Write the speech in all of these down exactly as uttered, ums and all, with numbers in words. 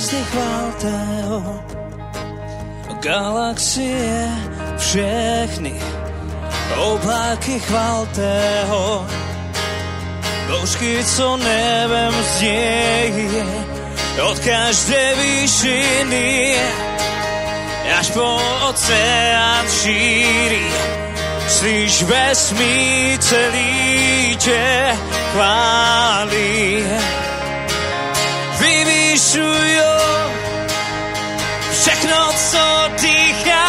hviezdy chválte ho, galaxie všechny, obláky chválte ho, bouřky, co nebem zděje, od každé výšiny až po oceán šíří. Slyš vesmír celý tě chválí. Vyvyšujo všechno, co dýchá,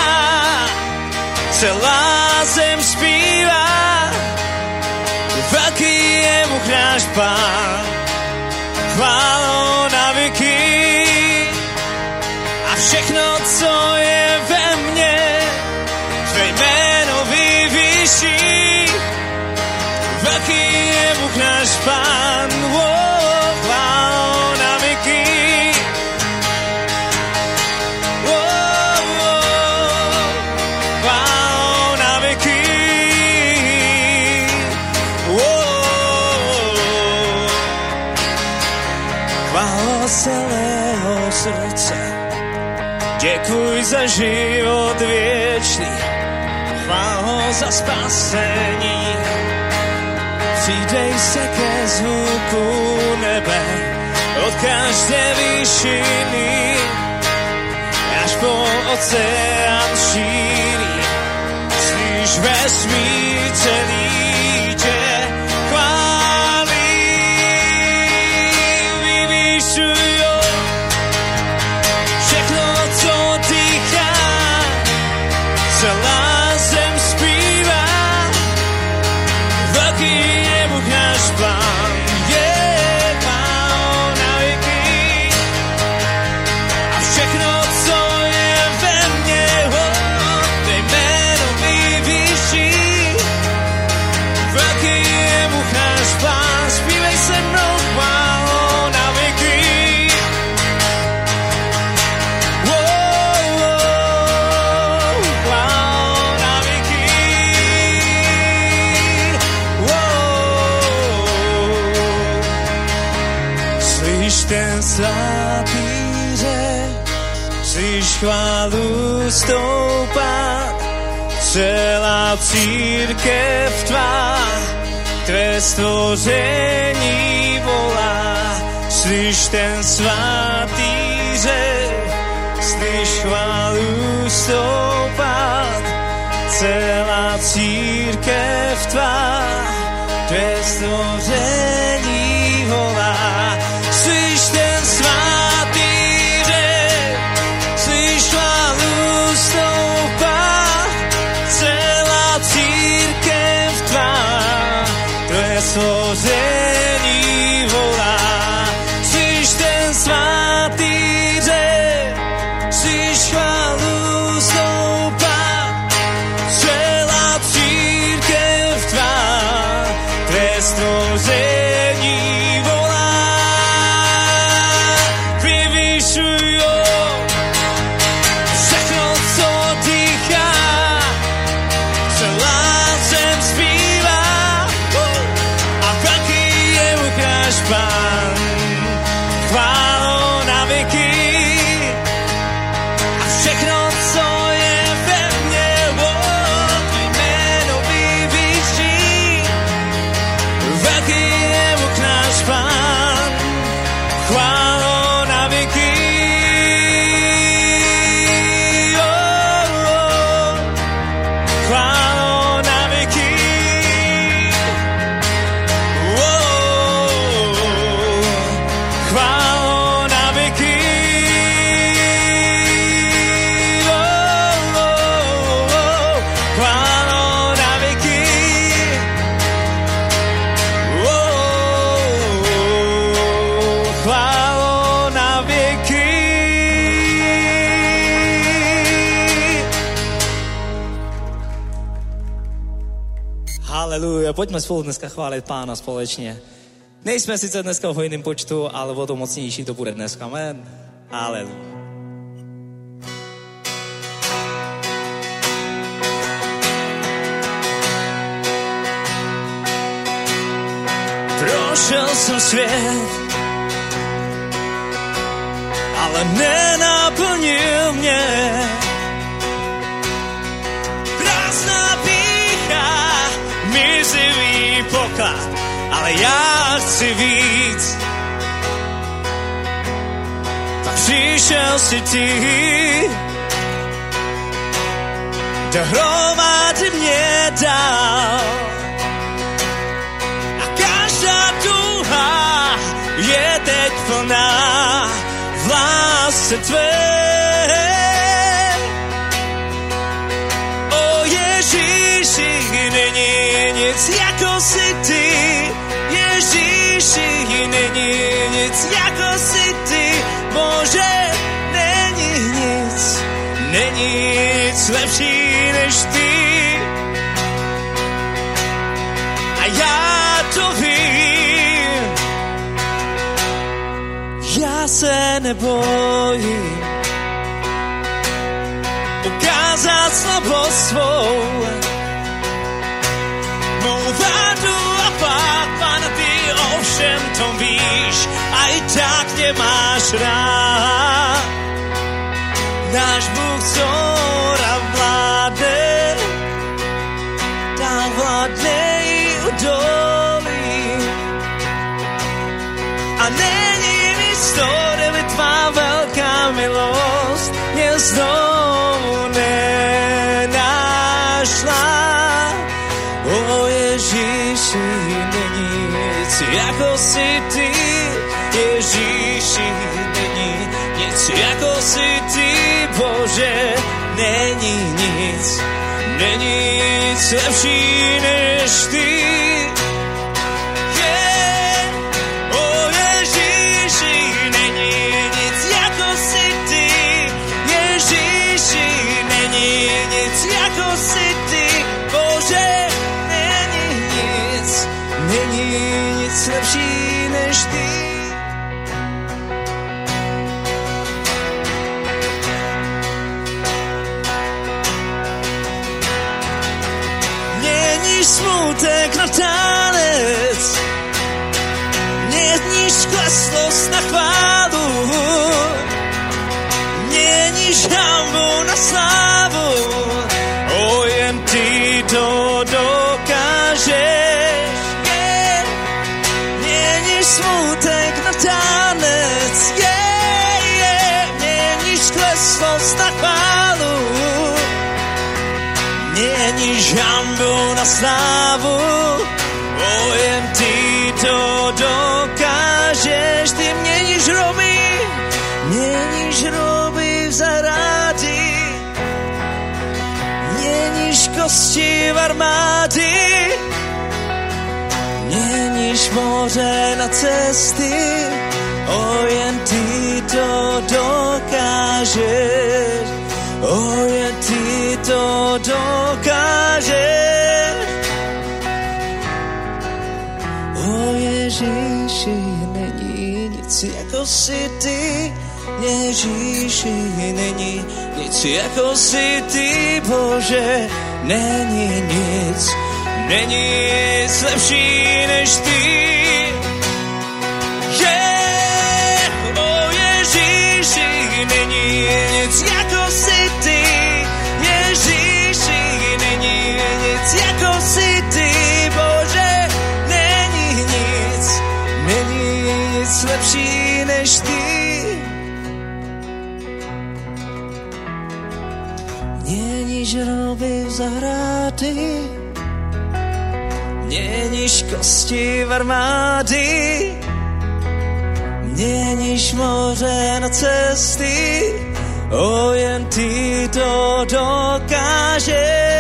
celá zem zpívá, velký je Bůh náš Pán, chválou na věky. A všechno, co je ve mně, tvé jméno vyvýší, velký je Bůh náš Pán, oh, chválou na věky. Oh, oh, chválou na věky. Oh, chválou celého srdce, děkuj za život věčný, chvál ho za spasení. Přidej se ke zvuku nebe, od každé výšiny, až po oceán šíří. Slyš vesmír celý tě chválí. Vyvyšujo všechno, co dýchá, celá zem zpívá, velký je Bůh náš Pán, je Pán na věky. A všechno, co je ve mně, oh, tvé jméno vyvýší, velký je Bůh náš Pán, zpívej se mnou chválou na věky. Ten svatý řek, slyš chválu stoupat, celá církev tvá, tvé stvoření volá. Slyš ten svatý řek, slyš chválu stoupat, celá církev tvá, tvé stvoření volá. Slyš ten svatý řek, slyš chválu stoupat, celá církev tvá, tvé stvoření volá. Slyš ten svatý řek, slyš chválu stoupat, celá církev tvá, tvé stvoření volá. Pán, chválou na věky. A všechno, co je ve mně, oh, tvé jméno vyvýší, velký je Bůh náš Pán, chválou na věky. Oh, oh, chválou na věky. Haleluja, pojďme spolu dneska chválit Pána společně. Nejsme sice dneska v hojném počtu, ale o to mocnější to bude dneska. Amen. Haleluja. Prošel jsem svět a ale nenaplnil mě. Prázdná pýcha, mizivý poklad, ale já chci víc. Tak přišel si ty, dohromady mě dal. A každá touha je teď plná v lásce tvé. O Ježíši, není nic jako si ty. Ježíši, není nic jako si ty. Bože, není nic, není nic lepší než ty. A já to vím, já se nebojím ukázat slabost svou. Mou vádu a pád, Pane, ty ovšem to víš, a i tak mě máš rád. Náš Bůh zhora vládne, dál vládne i udolí. A není místo, kde by tvá velká milost mě znovu nenašla. O Ježíši, není nic jako si ty. Ježíši, není nic jako si ty. Bože, není nic, není nic lepší než ty. Yeah. O Ježíši, není nic jako si ty. Ježíši, není nic jako si ty. Bože, není nic, není nic lepší než ty. Smutek na tanec, měníš kleslost na chválu, měníš hanbu na slávu, o jen ty to dokážeš. Yeah. Měníš smutek na tanec, yeah, yeah. Měníš kleslost na chválu, měníš hanbu na slávu, o jen ty to dokážeš. Ty měníš hroby, měníš hroby v zahrádí, měníš kosti v armády, měníš moře na cesty, o jen ty to dokážeš. O jen ty to dokážeš. O Ježíši, není nic jako si ty. Ježíši, není nic jako si ty. Bože, není nic, není nic lepší než ty. Yeah. O Ježíši, není nic jako si ty. Ježíši, není nic jako si ty. Bože, není nic, není nic lepší než ty. Měníš hroby v zahrady, měníš kosti v armády, měníš moře na cesty, o jen ty to dokážeš.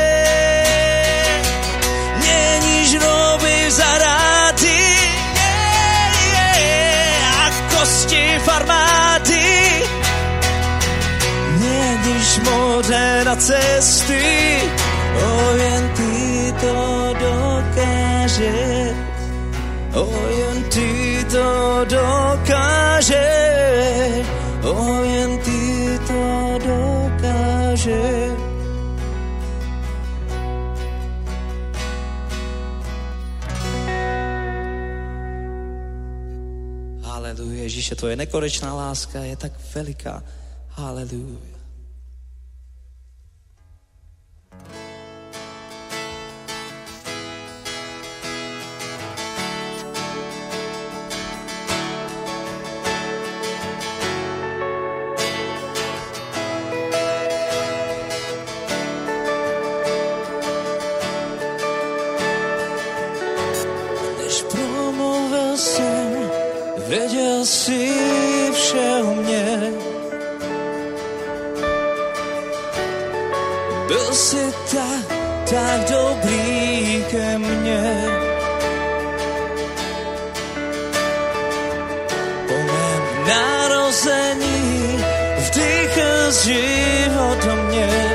Měníš hroby v zahrady, yeah, yeah, a kosti v armády, měníš moře na cesty, o jen ty to dokážeš. O jen ty to dokážeš. O jen ty to dokážeš. Haleluja, Ježíše, tvoje nekonečná láska je tak veliká. Haleluja. Věděl jsi vše o mě, byl jsi tak, tak dobrý ke mně. Po mém narození vdýchl život do mě.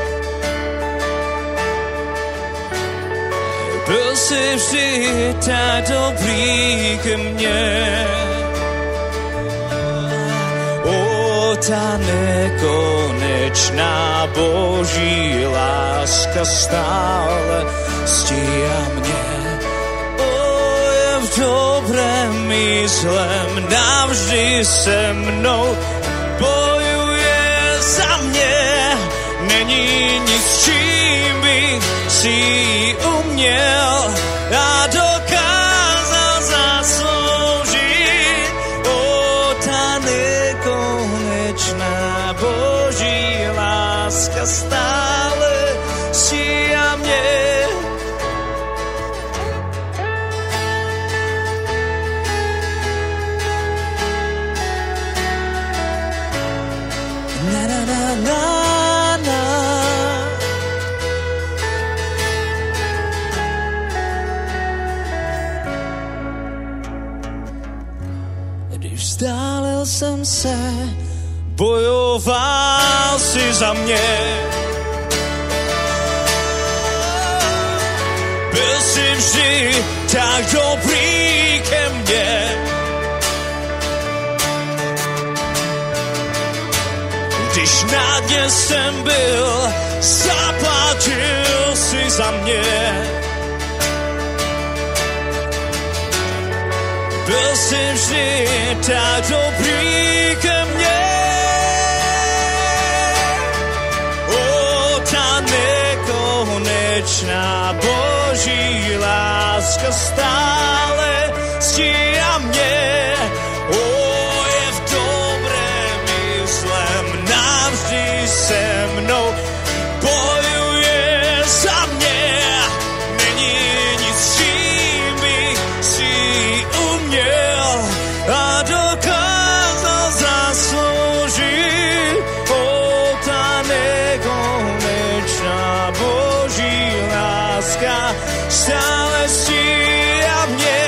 Byl jsi vždy tak dobrý ke mně. O, ta nekonečná Boží láska stále stíhá mě. O, je v dobrém i zlém, navždy se mnou bojuje za mě. Není nic, čím bych si uměl a dokázal zasloužit. O, ta nekonečná Boží láska stále stíhá mě. Na, na, na, na. Vzdálil jsem se, bojoval si za mě. Byl jsi vždy tak dobrý ke mně. Když na dně jsem byl, zaplatil si za mě. Byl jsi vždy tak dobrý ke mně. O, ta nekonečná Boží láska stále stíhá mě. O, je v dobrém i zlém, navždy se mnou bojuje za mě. Není nic, čím bych si uměl a dokázal zasloužit. O, ta nekonečná Boží láska stále stíhá mě.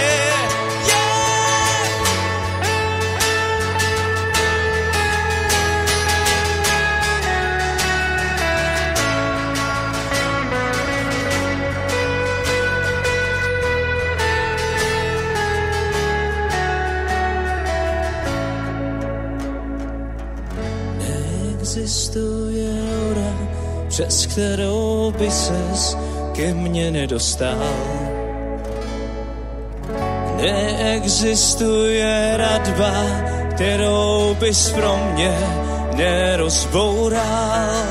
Neexistuje hora, přes kterou by ses ke mně nedostal. Neexistuje radba, kterou bys pro mě nerozboural.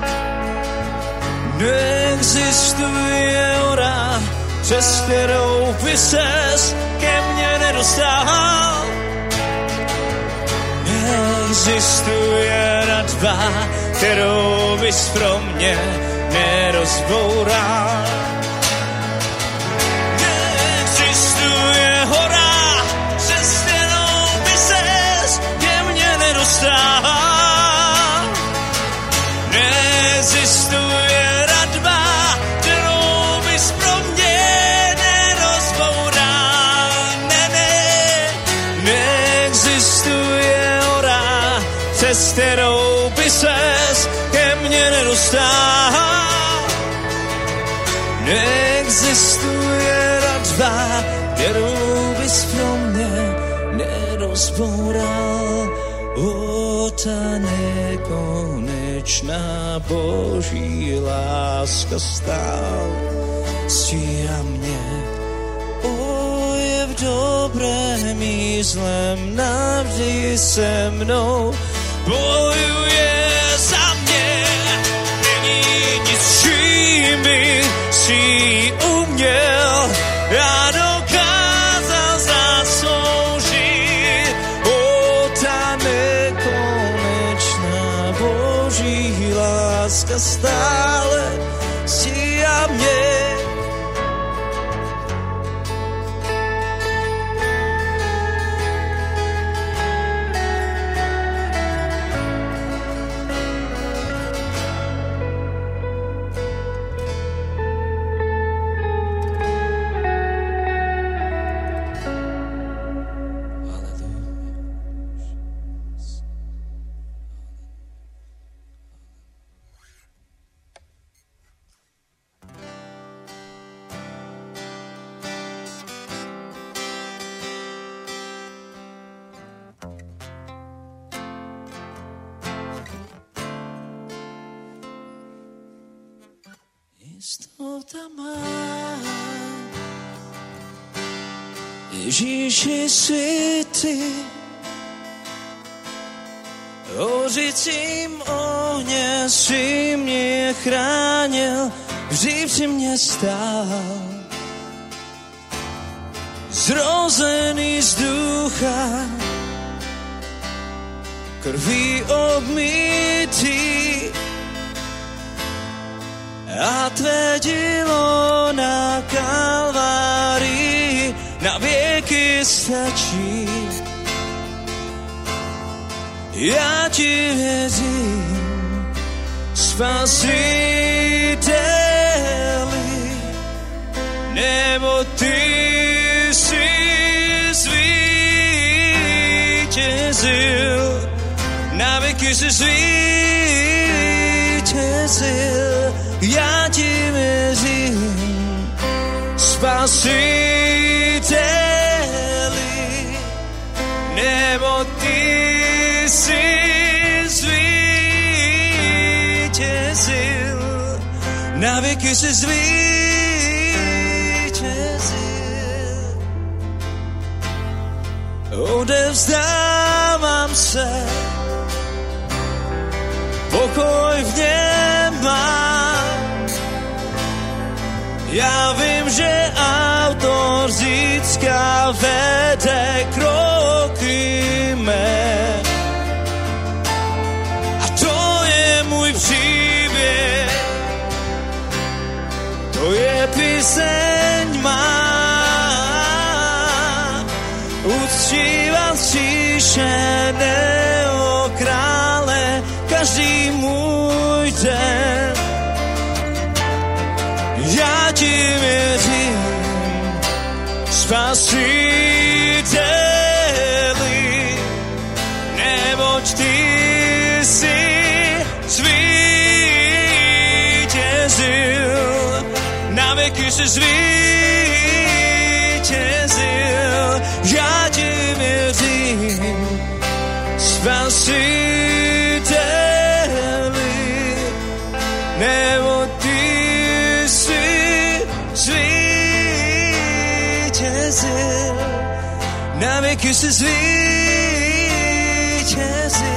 Neexistuje hora, přes kterou by ses ke mně nedostal. Neexistuje radba, kterou bys pro mě nerozboural. Neexistuje hora, přes kterou by ses ke mně nedostal. Neexistuje radba, kterou bys pro mě nerozboural. Ne, ne, neexistuje hora, přes kterou by ses ke mně nedostal. Neexistuje radba, kterou bys pro mě nerozboural. O, ta nekonečná Boží láska stál stíhá mě. O, je v dobrém i proti zlem navždy se mnou. Bojuje za mě, není nic, čím by si uměl já dokázal zasloužit. O, ta nekonečná Boží láska stále stíhá mě. Jistota má, Ježíši světy, hořícím ohně si mě chránil, vždy při mě stál. Zrozený z ducha, krví obmytý, a tvé dílo na Kalvárii na věky stačí. Já ti věřím, Spasiteli, nebo ty jsi zvítězil, na věky jsi zvítězil. Já ti věřím, Spasiteli, nebo ty jsi zvítězil, na věky jsi zvítězil. Odevzdávám se, pokoj v něm mám. Já vím, že autor zítřka vede kroky mé. A to je můj příběh, to je píseň má. Uctívat zříšeného krále každý můj den. Já ti věřím, Spasiteli, neboť ty jsi zvítězil, na věky jsi zvítězil. Já ti věřím, Spasiteli, neboť ty jsi zvítězil, na věky jsi zvítězil.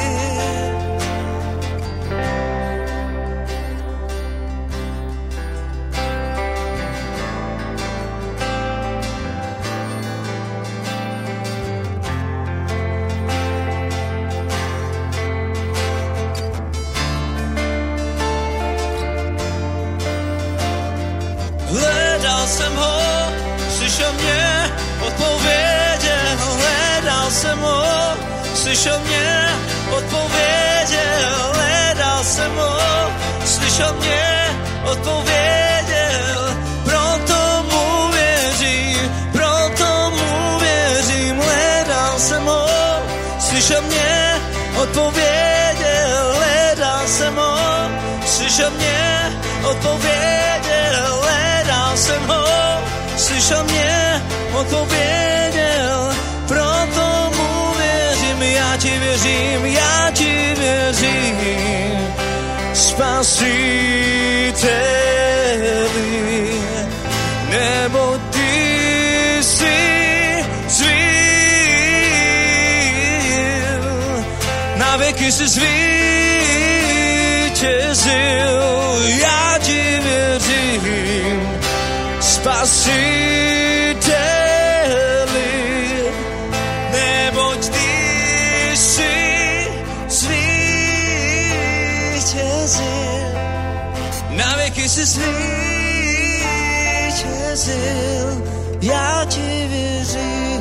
Hledal jsem ho, slyšel mě, odpověděl. Hledal jsem ho, slyšel mě, odpověděl. Hledal jsem ho, slyšel mě, odpověděl. Proto mu věřím, proto mu věřím. Hledal jsem ho, slyšel mě, odpověděl. Hledal jsem ho, slyšel mě, odpověděl. Hledal jsem ho, slyšel mě, odpověděl. Proto mu věřím, já ti věřím, já ti věřím. Spasiteli, nebo ty jsi zvítězil, Na věky si zvítězil, já ti věřím, Spasiteli, neboť ty jsi zvítězil. Na věky si zvítězil, já ti věřím,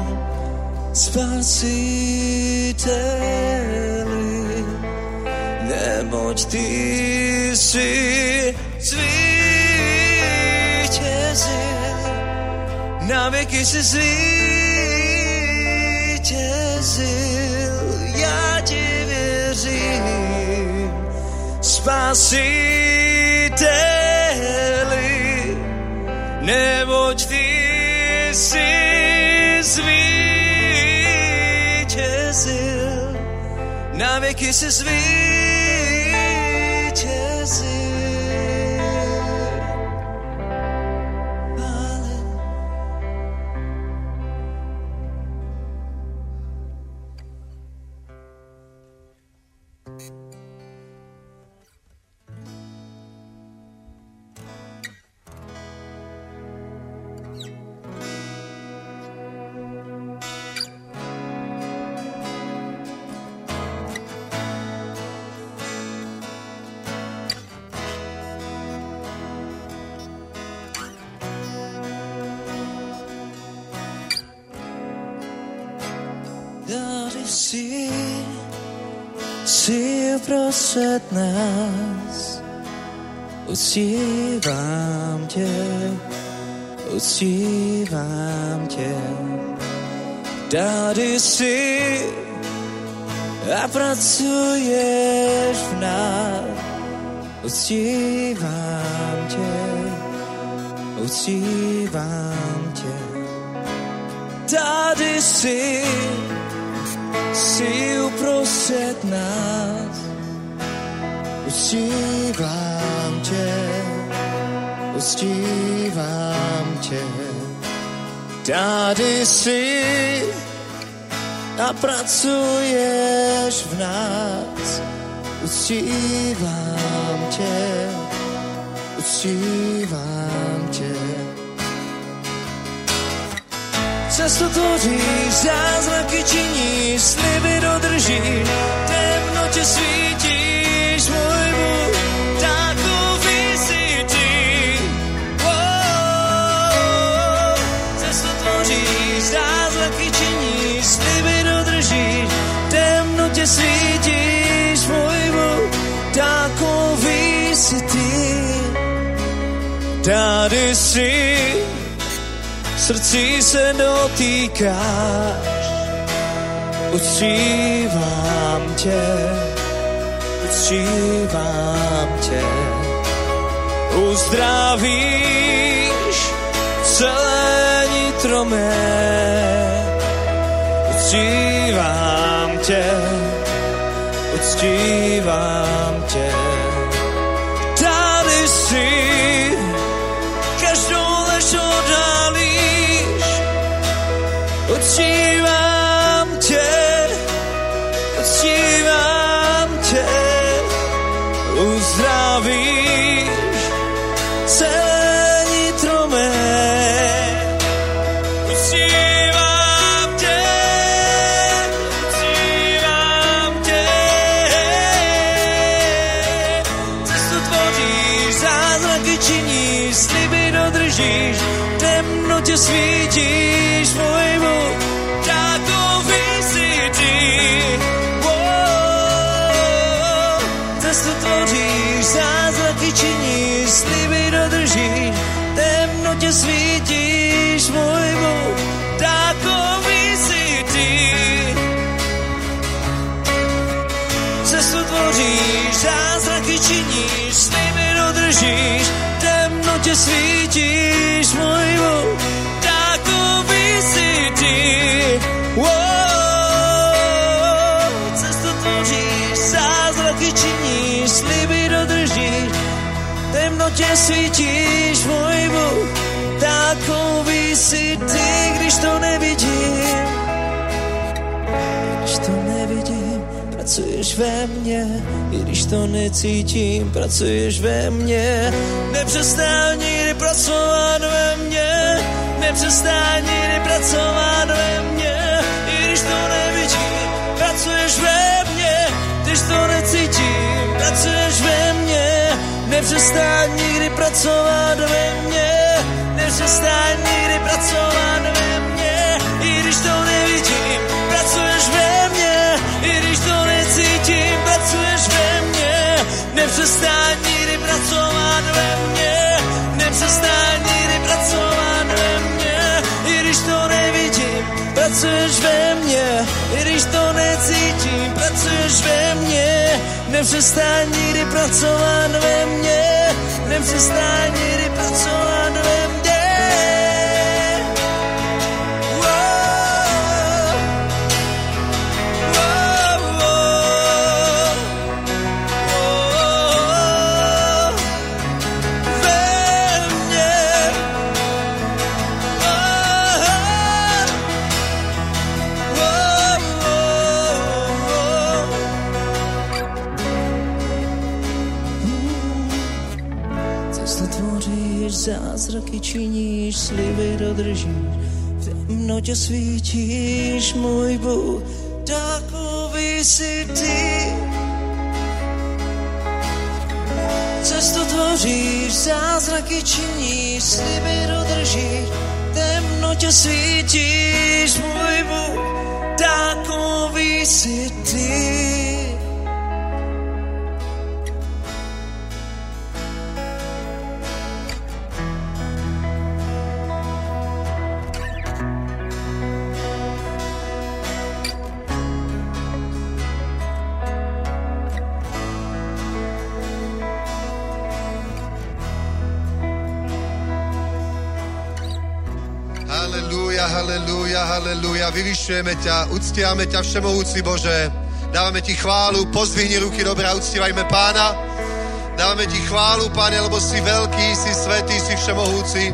Spasiteli, neboť ty jsi zvítězil. Na věky si zvítězil, já ti věřím, Spasiteli, neboť ty jsi zvítězil, na věky si zvítězil. Tady jsi, jsi uprostřed nás, uctívám tě, uctívám tě. Tady jsi a pracuješ v nás, uctívám tě, uctívám tě. Tady jsi, jsi uprostřed nás, uctívám tě, uctívám tě. Tady jsi a pracuješ v nás, uctívám tě, uctívám tě. Cestu tvoříš, zázraky činíš, sliby dodržíš, temnotě svítíš, můj Bůh, takový jsi ty. Oh, cestu tvoříš, zázraky činíš, sliby dodržíš, temnotě svítíš, můj Bůh, takový jsi ty. Tady jsi, srdcí se dotýkáš, uctívám tě, uctívám tě. Uzdravíš celé nitro mé, uctívám tě, uctívám tě. Tady jsi, každou lež odhalíš, uctívám tě, uctívám tě, uzdravíš celé nitro mé. Uctívám tě, uctívám tě, cestu tvoříš, zázraky činíš, sliby dodržíš, temnotě svítíš, můj Bůh, takový jsi ty. Oh, cestu tvoříš, zázraky činíš, sliby dodržíš, temnotě svítíš, můj Bůh, takový jsi ty. Cestu tvoříš, zázraky činíš, sliby dodržíš, temnotě svítíš, můj Bůh, takový jsi ty. Oh, cestu tvoříš, zázraky činíš, sliby dodržíš, temnotě svítíš, můj Bůh, takový jsi ty, když to nevidím, když to nevidím, pracuješ ve mně, i když to necítím, pracuješ ve mně. Nepřestaň nikdy pracovat ve mně, nepřestaň nikdy pracovat ve mně, i když to nevidím, pracuješ ve mně, když to necítím, pracuješ ve mně. Nepřestaň nikdy pracovat ve mně, nepřestaň nikdy pracovat ve mně, i když to nevidím, pracuješ ve mně, i když to necítím, pracuješ ve mně. Nepřestaň nikdy pracovat ve mně, nepřestaň nikdy pracovat ve mně, i když to nevidím, pracuješ ve mně, i když to necítím, pracuješ ve mně. Nepřestaň nikdy pracovat ve mně, nepřestaň nikdy pracovat ve mně. Zázraky činíš, sliby dodržíš, v temnotě svítíš, můj Bůh, takový jsi ty. Cestu tvoříš, zázraky činíš, sliby dodržíš, v temnotě svítíš, můj Bůh, takový jsi ty. Halelúja, halelúja, vyvyšujeme ťa, uctiame ťa, všemohúci Bože. Dávame ti chválu, pozdvihni ruky, dobre, a uctívajme Pána. Dávame ti chválu, Pane, lebo si veľký, si svätý, si všemohúci.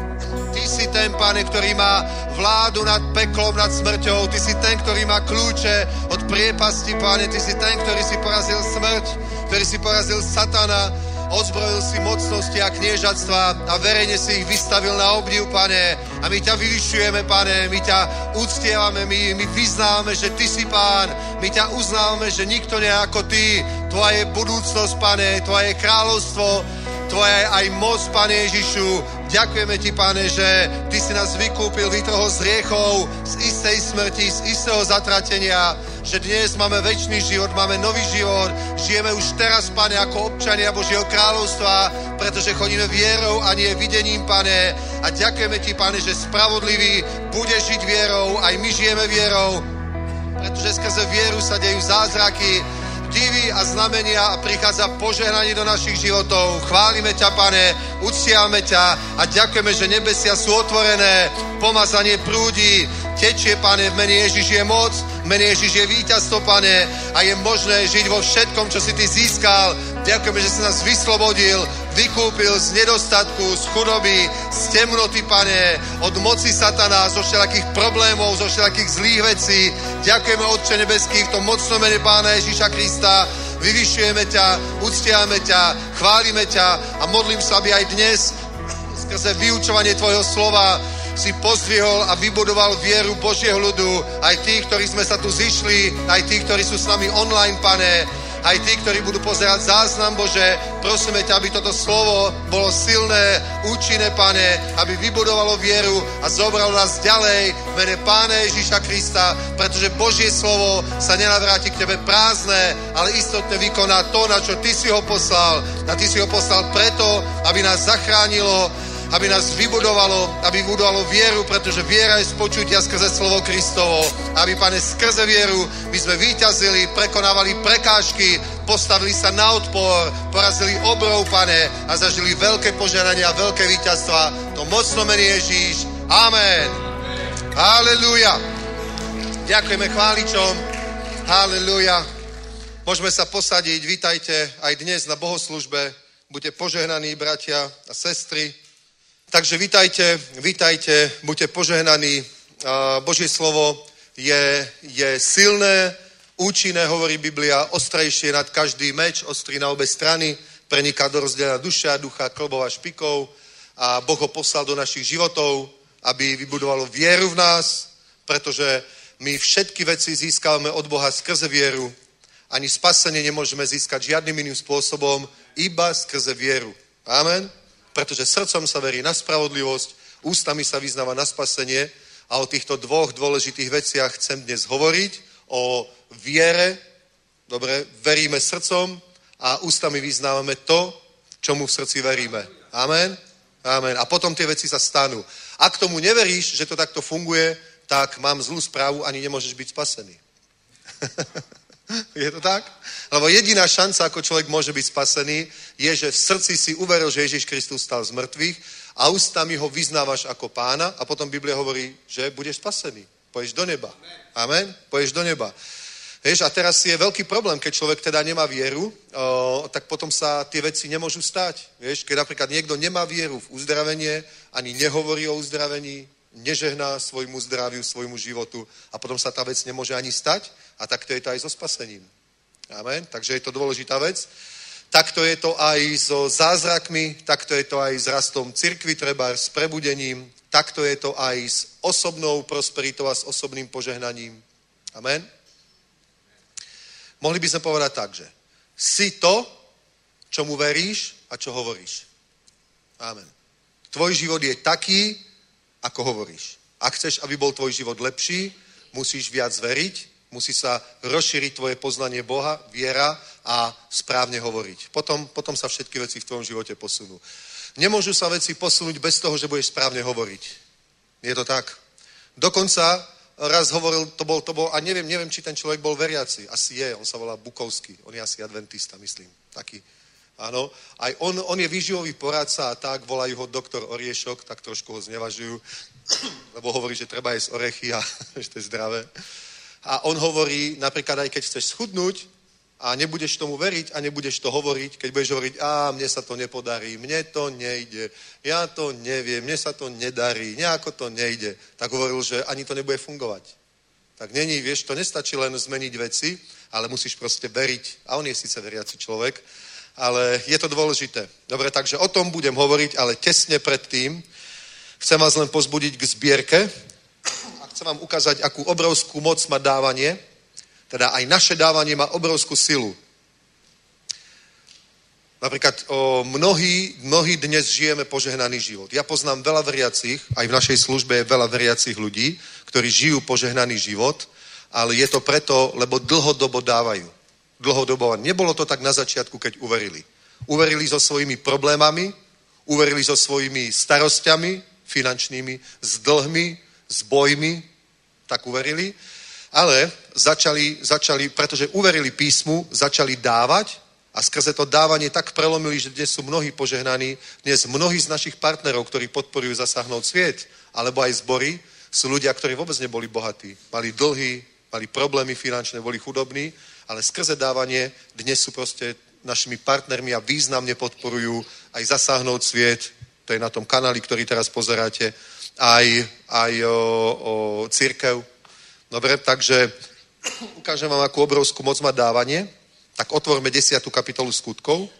Ty si ten, Pane, ktorý má vládu nad peklom, nad smrťou. Ty si ten, ktorý má kľúče od priepasti, Pane. Ty si ten, ktorý si porazil smrť, ktorý si porazil satana. Odzbrojil si mocnosti a kniežatstva a verejne si ich vystavil na obdiv, Pane. A my ťa vyvyšujeme, Pane, my ťa uctievame, my, my vyznávame, že Ty si Pán. My ťa uznávame, že nikto nie ako Ty. Tvoja je budúcnosť, Pane, Tvoje kráľovstvo, Tvoja je aj moc, Pane Ježišu. Ďakujeme Ti, Pane, že Ty si nás vykúpil, vytrhol z hriechov, z istej smrti, z istého zatratenia, že dnes máme večný život, máme nový život, žijeme už teraz, Pane, ako občania Božieho kráľovstva, pretože chodíme vierou a nie videním, Pane. A ďakujeme Ti, Pane, že spravodlivý bude žiť vierou, aj my žijeme vierou, pretože skrze vieru sa dejú zázraky, divy a znamenia a prichádza požehnanie do našich životov. Chválime ťa, Pane, uctiame ťa a ďakujeme, že nebesia sú otvorené, pomazanie prúdi, tečie, Pane, v mene Ježiš je moc, v mene Ježiš je víťazstvo, Pane, a je možné žiť vo všetkom, čo si Ty získal. Ďakujeme, že si nás vyslobodil, vykúpil z nedostatku, z chudoby, z temnoty, Pane, od moci satana, zo všelakých problémov, zo všelakých zlých vecí. Ďakujeme, Otče nebeský, v tom mocnom mene Pána Ježiša Krista. Vyvyšujeme ťa, uctiame ťa, chválime ťa a modlím sa, aby aj dnes skrze vyučovanie Tvojho slova si pozdvihol a vybudoval vieru Božieho ľudu, aj tí, ktorí sme sa tu zišli, aj tí, ktorí sú s nami online, Pane, aj tí, ktorí budú pozerať záznam, Bože, prosíme ťa, aby toto slovo bolo silné, účinné, Pane, aby vybudovalo vieru a zobralo nás ďalej v mene Pána Ježiša Krista, pretože Božie slovo sa nenavráti k Tebe prázdne, ale istotne vykoná to, na čo Ty si ho poslal. A Ty si ho poslal preto, aby nás zachránilo, aby nás vybudovalo, aby vybudovalo vieru, pretože viera je z počutia skrze slovo Kristovo. Aby, Pane, skrze vieru my sme víťazili, prekonávali prekážky, postavili sa na odpor, porazili obrov, Pane, a zažili veľké požehnanie a veľké víťazstva. To mocno mení Ježíš. Amen. Halelúja. Ďakujeme chváličom. Halelúja. Môžeme sa posadiť. Vítajte aj dnes na bohoslužbe. Buďte požehnaní, bratia a sestry. Takže vítajte, vítajte, buďte požehnaní. Božie slovo je, je silné, účinné, hovorí Biblia, ostrejšie nad každý meč, ostrý na obe strany, preniká do rozdiela duše a ducha, klbou a špikou a Boh ho poslal do našich životov, aby vybudovalo vieru v nás, pretože my všetky veci získávame od Boha skrze vieru. Ani spasenie nemôžeme získať žiadnym iným spôsobom, iba skrze vieru. Amen? Pretože srdcom sa verí na spravodlivosť, ústami sa vyznáva na spasenie a o týchto dvoch dôležitých veciach chcem dnes hovoriť. O viere, dobre, veríme srdcom a ústami vyznávame to, čomu v srdci veríme. Amen? Amen. A potom tie veci sa stanú. Ak tomu neveríš, že to takto funguje, tak mám zlú správu, ani nemôžeš byť spasený. Je to tak? Lebo jediná šanca, ako človek môže byť spasený, je, že v srdci si uveril, že Ježiš Kristus stal z mŕtvych a ústami ho vyznávaš ako pána a potom Biblia hovorí, že budeš spasený. Pôjdeš do neba. Amen? Pôjdeš do neba. Vieš, a teraz je veľký problém, keď človek teda nemá vieru, o, tak potom sa tie veci nemôžu stať. Vieš, keď napríklad niekto nemá vieru v uzdravenie, ani nehovorí o uzdravení, nežehná svojmu zdraviu, svojmu životu a potom sa tá vec nemôže ani stať a takto je to aj so spasením. Amen? Takže je to dôležitá vec. Takto je to aj so zázrakmi, takto je to aj s rastom cirkvi, treba s prebudením, takto je to aj s osobnou prosperitou a s osobným požehnaním. Amen? Mohli by sme povedať tak, že si to, čomu veríš a čo hovoríš. Amen. Tvoj život je taký, ako hovoríš. Ak chceš, aby bol tvoj život lepší, musíš viac veriť, musí sa rozšíriť tvoje poznanie Boha, viera a správne hovoriť. Potom, potom sa všetky veci v tvojom živote posunú. Nemôžu sa veci posunúť bez toho, že budeš správne hovoriť. Je to tak? Dokonca raz hovoril, to bol, to bol, a neviem, neviem, či ten človek bol veriaci. Asi je, on sa volá Bukovský. On je asi adventista, myslím. Taký. Áno. Aj on, on je výživový poradca a tak, volajú ho doktor Oriešok, tak trošku ho znevažujú, lebo hovorí, že treba jesť orechy a že to je zdravé. A on hovorí, napríklad aj keď chceš schudnúť a nebudeš tomu veriť a nebudeš to hovoriť, keď budeš hovoriť, a mne sa to nepodarí, mne to nejde, ja to neviem, mne sa to nedarí, nejako to nejde, tak hovoril, že ani to nebude fungovať. Tak není, vieš, to nestačí len zmeniť veci, ale musíš proste veriť. A on je síce veriaci človek, ale je to dôležité. Dobre, takže o tom budem hovoriť, ale tesne predtým chcem vás len pozbudiť k zbierke a chcem vám ukázať, akú obrovskú moc má dávanie. Teda aj naše dávanie má obrovskú silu. Napríklad o, mnohí, mnohí dnes žijeme požehnaný život. Ja poznám veľa veriacich, aj v našej službe je veľa veriacich ľudí, ktorí žijú požehnaný život, ale je to preto, lebo dlhodobo dávajú. Dlhodobo. Nebolo to tak na začiatku, keď uverili. Uverili so svojimi problémami, uverili so svojimi starosťami finančnými, s dlhmi, s bojmi, tak uverili. Ale začali, začali, pretože uverili písmu, začali dávať a skrze to dávanie tak prelomili, že dnes sú mnohí požehnaní. Dnes mnohí z našich partnerov, ktorí podporujú Zasáhnout sviet, alebo aj zbory, sú ľudia, ktorí vôbec neboli bohatí. Mali dlhy, mali problémy finančné, boli chudobní, ale skrze dávanie dnes sú proste našimi partnermi a významne podporujú aj Zasáhnout sviet, to je na tom kanáli, ktorý teraz pozeráte, aj, aj o, o cirkev. Dobre, takže ukážem vám, akú obrovskú moc má dávanie. Tak otvorme desiatu kapitolu Skutkov.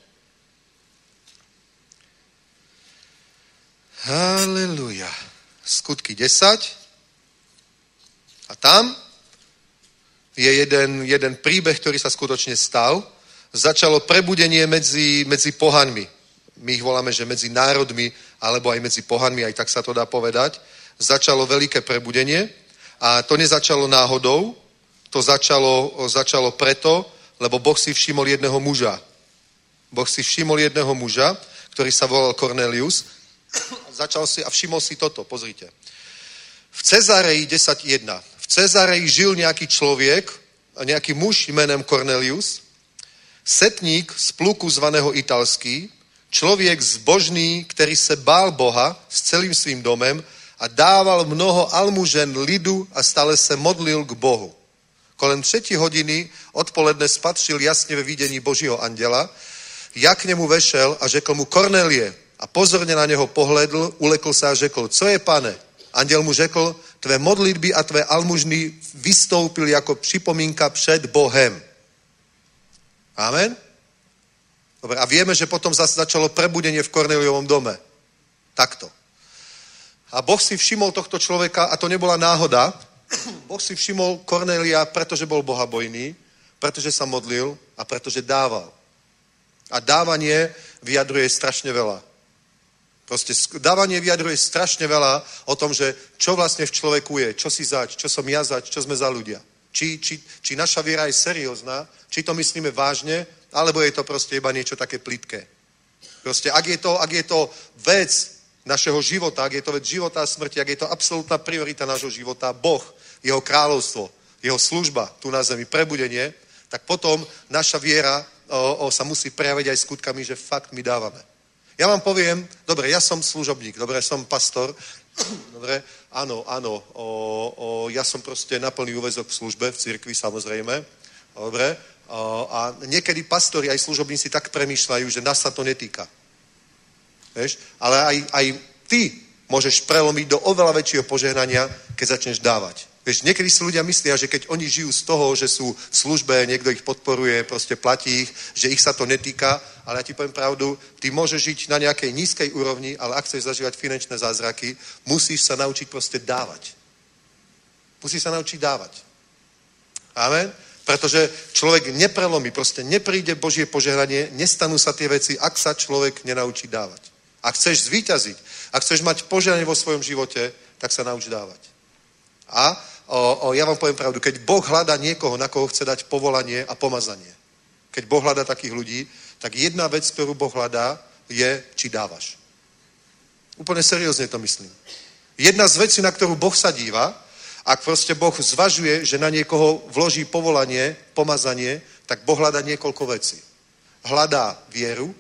Haleluja. Skutky desať. A tam je jeden, jeden príbeh, ktorý sa skutočne stal. Začalo prebudenie medzi, medzi pohanmi. My ich voláme, že medzi národmi, alebo aj medzi pohanmi, aj tak sa to dá povedať. Začalo veľké prebudenie. A to nezačalo náhodou, to začalo, začalo preto, lebo Boh si všimol jedného muža. Boh si všimol jedného muža, ktorý sa volal Kornelius. Začal si a všimol si toto, pozrite. V Cezareji desať jedna. V Cezareji žil nejaký človek, nejaký muž jménem Kornelius, setník z pluku zvaného Italský, člověk zbožný, který se bál Boha s celým svým domem a dával mnoho almužen lidu a stále se modlil k Bohu. Kolem třetí hodiny odpoledne spatřil jasně ve vidění Božího anděla, jak k němu vešel a řekl mu Kornelie a pozorně na něho pohledl, ulekl se a řekl, co je, pane? Anděl mu řekl, tvé modlitby a tvé almužny vystoupili jako připomínka před Bohem. Amen? Dobre, a vieme, že potom zase začalo prebudenie v Korneliovom dome. Takto. A Boh si všimol tohto človeka, a to nebola náhoda, Boh si všimol Kornélia, pretože bol bohabojný, pretože sa modlil a pretože dával. A dávanie vyjadruje strašne veľa. Proste dávanie vyjadruje strašne veľa o tom, že čo vlastne v človeku je, čo si zač, čo som ja zač, čo sme za ľudia. Či, či, či naša viera je seriózna, či to myslíme vážne, alebo je to proste iba niečo také plitké. Proste ak je to, ak je to vec našeho života, ak je to vec života a smrti, ak je to absolútna priorita nášho života, Boh, jeho kráľovstvo, jeho služba tu na zemi, prebudenie, tak potom naša viera o, o, sa musí prejaviť aj skutkami, že fakt my dávame. Ja vám poviem, dobre, ja som služobník, dobre, som pastor, dobre, áno, áno, o, o, ja som proste na plný úväzok v službe, v cirkvi samozrejme, dobre, o, a niekedy pastori aj služobníci tak premýšľajú, že nás sa to netýka. Vieš? Ale aj, aj ty môžeš prelomiť do oveľa väčšieho požehnania, keď začneš dávať. Vieš, niekedy si ľudia myslia, že keď oni žijú z toho, že sú v službe, niekto ich podporuje, proste platí ich, že ich sa to netýka, ale ja ti poviem pravdu, ty môžeš žiť na nejakej nízkej úrovni, ale ak chceš zažívať finančné zázraky, musíš sa naučiť proste dávať. Musíš sa naučiť dávať. Amen? Pretože človek neprelomí, proste nepríde Božie požehnanie, nestanú sa tie veci, ak sa človek nenaučí dávať. Ak chceš zvíťaziť, ak chceš mať požehnanie vo svojom živote, tak sa nauč dávať. A o, o, ja vám poviem pravdu, keď Boh hľadá niekoho, na koho chce dať povolanie a pomazanie, keď Boh hľadá takých ľudí, tak jedna vec, ktorú Boh hľadá, je, či dávaš. Úplne seriózne to myslím. Jedna z vecí, na ktorú Boh sa díva, ak proste Boh zvažuje, že na niekoho vloží povolanie, pomazanie, tak Boh hľadá niekoľko vecí. Hľadá vieru,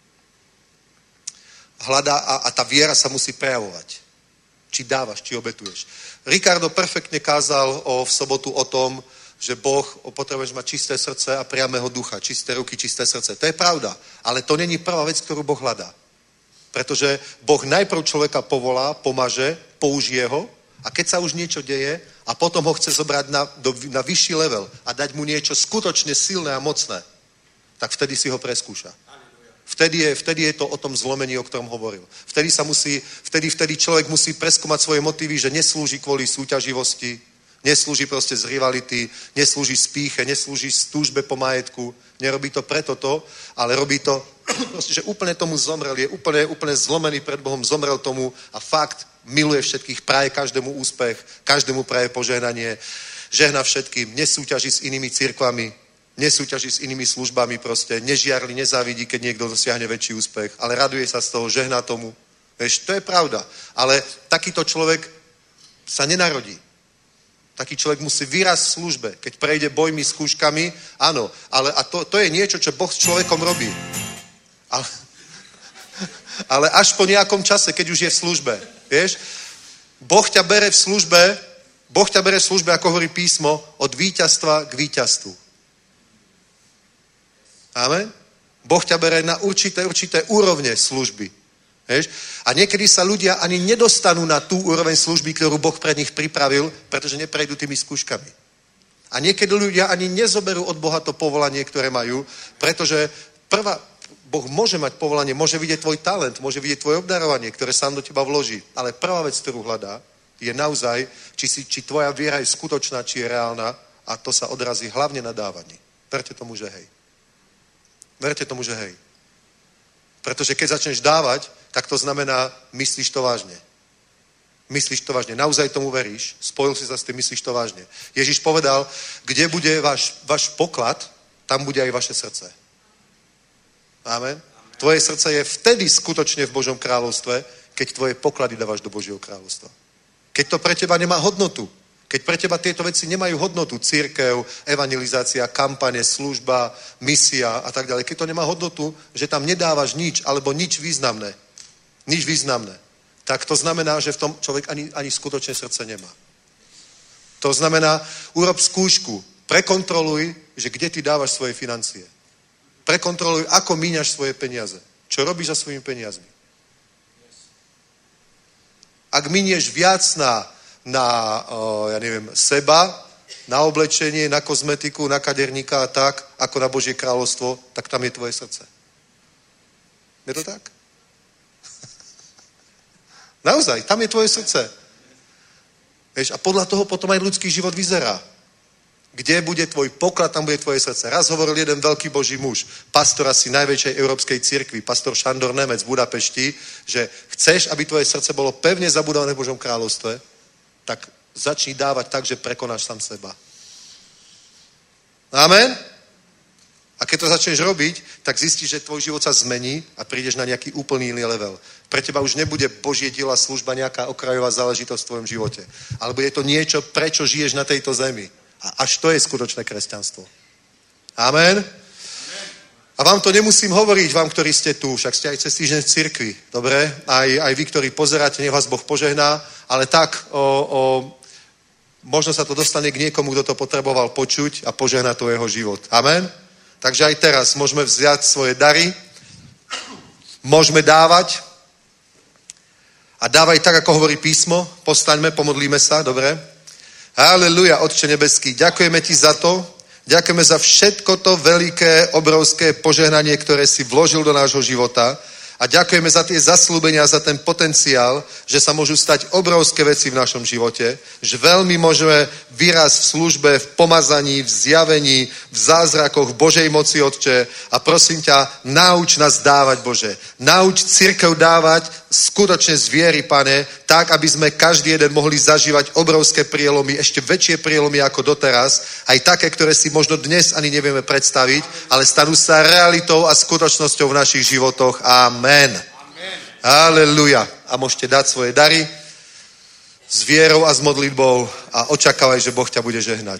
hľadá a, a tá viera sa musí prejavovať. Či dávaš, či obetuješ. Ricardo perfektne kázal o, v sobotu o tom, že Boh potrebuješ mať čisté srdce a priamého ducha, čisté ruky, čisté srdce. To je pravda, ale to není prvá vec, ktorú Boh hľadá. Pretože Boh najprv človeka povolá, pomaže, použije ho a keď sa už niečo deje a potom ho chce zobrať na, do, na vyšší level a dať mu niečo skutočne silné a mocné, tak vtedy si ho preskúša. Vtedy je, vtedy je to o tom zlomení, o ktorom hovoril. Vtedy, sa musí, vtedy, vtedy človek musí preskúmať svoje motívy, že neslúži kvôli súťaživosti, neslúži proste z rivality, neslúži z pýche, neslúži z túžbe po majetku, nerobí to preto to, ale robí to, proste, že úplne tomu zomrel, je úplne, úplne zlomený pred Bohom, zomrel tomu a fakt miluje všetkých, praje každému úspech, každému praje požehnanie, žehna všetkým, nesúťaží s inými cirkvami, nesúťaží s inými službami proste, nežiarli, nezávidí, keď niekto dosiahne väčší úspech, ale raduje sa z toho, žehná tomu. Vieš, to je pravda. Ale takýto človek sa nenarodí. Taký človek musí vyrásť v službe, keď prejde bojmi, skúškami, áno, ale a to, to je niečo, čo Boh s človekom robí. Ale, ale až po nejakom čase, keď už je v službe, vieš, Boh ťa bere v službe, Boh ťa bere v službe, ako hovorí písmo, od víťazstva k víťazstvu. Amen? Boh ťa bere na určité, určité úrovne služby. Vieš? A niekedy sa ľudia ani nedostanú na tú úroveň služby, ktorú Boh pre nich pripravil, pretože neprejdú tými skúškami. A niekedy ľudia ani nezoberú od Boha to povolanie, ktoré majú, pretože prvá, Boh môže mať povolanie, môže vidieť tvoj talent, môže vidieť tvoje obdarovanie, ktoré sám do teba vloží. Ale prvá vec, ktorú hľadá, je naozaj, či, si, či tvoja viera je skutočná, či je reálna a to sa odrazí hlavne na dávaní. Verte tomu, že hej. Verte tomu, že hej. Pretože keď začneš dávať, tak to znamená, myslíš to vážne. Myslíš to vážne. Naozaj tomu veríš. Spojil si sa s tým, myslíš to vážne. Ježiš povedal, kde bude váš, váš poklad, tam bude aj vaše srdce. Amen. Tvoje srdce je vtedy skutočne v Božom kráľovstve, keď tvoje poklady dávaš do Božieho kráľovstva. Keď to pre teba nemá hodnotu. Keď pre teba tieto veci nemajú hodnotu, cirkev, evangelizácia, kampane, služba, misia a tak ďalej. Keď to nemá hodnotu, že tam nedávaš nič, alebo nič významné, nič významné, tak to znamená, že v tom človek ani, ani skutočne srdce nemá. To znamená, urob skúšku, prekontroluj, že kde ty dávaš svoje financie. Prekontroluj, ako míňaš svoje peniaze. Čo robíš za svojimi peniazmi. Ak minieš viac na na, o, ja neviem, seba, na oblečenie, na kozmetiku, na kaderníka a tak, ako na Božie kráľovstvo, tak tam je tvoje srdce. Je to tak? Naozaj, tam je tvoje srdce. Vieš, a podľa toho potom aj ľudský život vyzerá. Kde bude tvoj poklad, tam bude tvoje srdce. Raz hovoril jeden veľký Boží muž, pastor asi najväčšej európskej cirkvi, pastor Šandor Nemec v Budapešti, že chceš, aby tvoje srdce bolo pevne zabudované v Božom kráľovstve, tak začni dávať tak, že prekonáš sám seba. Amen? A keď to začneš robiť, tak zistíš, že tvoj život sa zmení a prídeš na nejaký úplný iný level. Pre teba už nebude Božie diela služba nejaká okrajová záležitosť v tvojom živote. Ale bude to niečo, prečo žiješ na tejto zemi. A až to je skutočné kresťanstvo. Amen? A vám to nemusím hovoriť, vám, ktorí ste tu, však ste aj cez týždeň v cirkvi, dobre? Aj, aj vy, ktorí pozeráte, nech vás Boh požehná, ale tak, o, o, možno sa to dostane k niekomu, kto to potreboval počuť a požehná to jeho život. Amen? Takže aj teraz môžeme vziať svoje dary, môžeme dávať a dávaj tak, ako hovorí písmo, postaňme, pomodlíme sa, dobre? Haleluja, Otče nebeský, ďakujeme ti za to, ďakujeme za všetko to veľké, obrovské požehnanie, ktoré si vložil do nášho života a ďakujeme za tie zasľúbenia, za ten potenciál, že sa môžu stať obrovské veci v našom živote, že veľmi môžeme výraz v službe, v pomazaní, v zjavení, v zázrakoch, v Božej moci, Otče. A prosím ťa, nauč nás dávať, Bože. Nauč cirkev dávať skutočne z viery, Pane, tak, aby sme každý jeden mohli zažívať obrovské prielomy, ešte väčšie prielomy ako doteraz, aj také, ktoré si možno dnes ani nevieme predstaviť, ale stanú sa realitou a skutočnosťou v našich životoch. Amen. Amen. Aleluja. A môžete dať svoje dary s vierou a s modlitbou a očakávaj, že Boh ťa bude žehnať.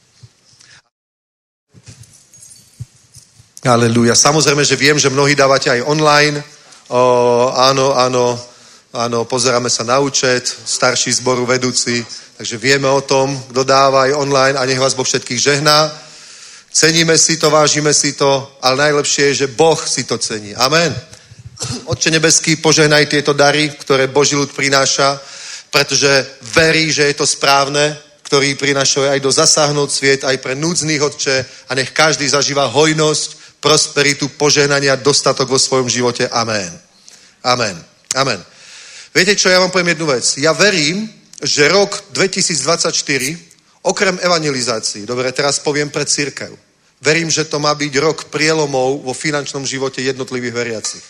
Aleluja. Samozrejme, že viem, že mnohí dávate aj online. O, áno, áno, áno, pozeráme sa na účet, starší zboru vedúci, takže vieme o tom, kto dáva aj online a nech vás Boh všetkých žehná. Ceníme si to, vážime si to, ale najlepšie je, že Boh si to cení. Amen. Otče nebeský, požehnaj tieto dary, ktoré Boží ľud prináša, pretože verí, že je to správne, ktorý prinášajú aj do zasáhnout sviet, aj pre núdznych, Otče, a nech každý zažíva hojnosť, prosperitu, požehnania, dostatok vo svojom živote. Amen. Amen. Amen. Viete čo, ja vám poviem jednu vec. Ja verím, že rok dvetisícdvadsaťštyri, okrem evangelizácií, dobre, teraz poviem pre cirkev, verím, že to má byť rok prielomov vo finančnom živote jednotlivých veriacich.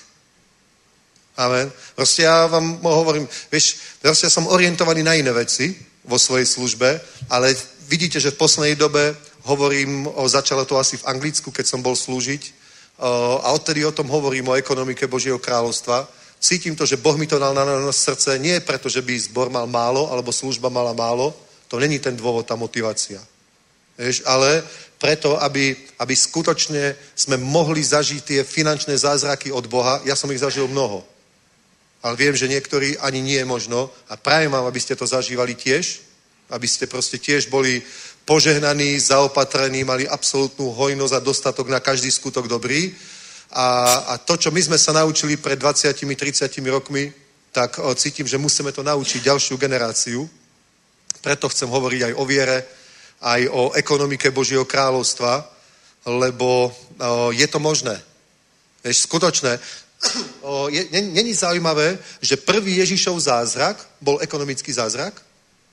Amen. Proste ja vám hovorím, vieš, proste ja som orientovaný na iné veci vo svojej službe, ale vidíte, že v poslednej dobe hovorím, o, začalo to asi v Anglicku, keď som bol slúžiť o, a odtedy o tom hovorím, o ekonomike Božieho kráľovstva. Cítim to, že Boh mi to dal na nás srdce, nie preto, že by zbor mal málo, alebo služba mala málo, to není ten dôvod, tá motivácia. Vieš, ale preto, aby, aby skutočne sme mohli zažiť tie finančné zázraky od Boha. Ja som ich zažil mnoho. Ale viem, že niektorí ani nie je možno a prajem vám, aby ste to zažívali tiež, aby ste proste tiež boli požehnaní, zaopatrení, mali absolútnu hojnosť a dostatok na každý skutok dobrý. A, a to, čo my sme sa naučili pred dvadsiatimi tridsiatimi rokmi, tak o, cítim, že musíme to naučiť ďalšiu generáciu. Preto chcem hovoriť aj o viere, aj o ekonomike Božieho kráľovstva, lebo o, je to možné. Vieš, skutočné. O, je, není zaujímavé, že prvý Ježišov zázrak bol ekonomický zázrak?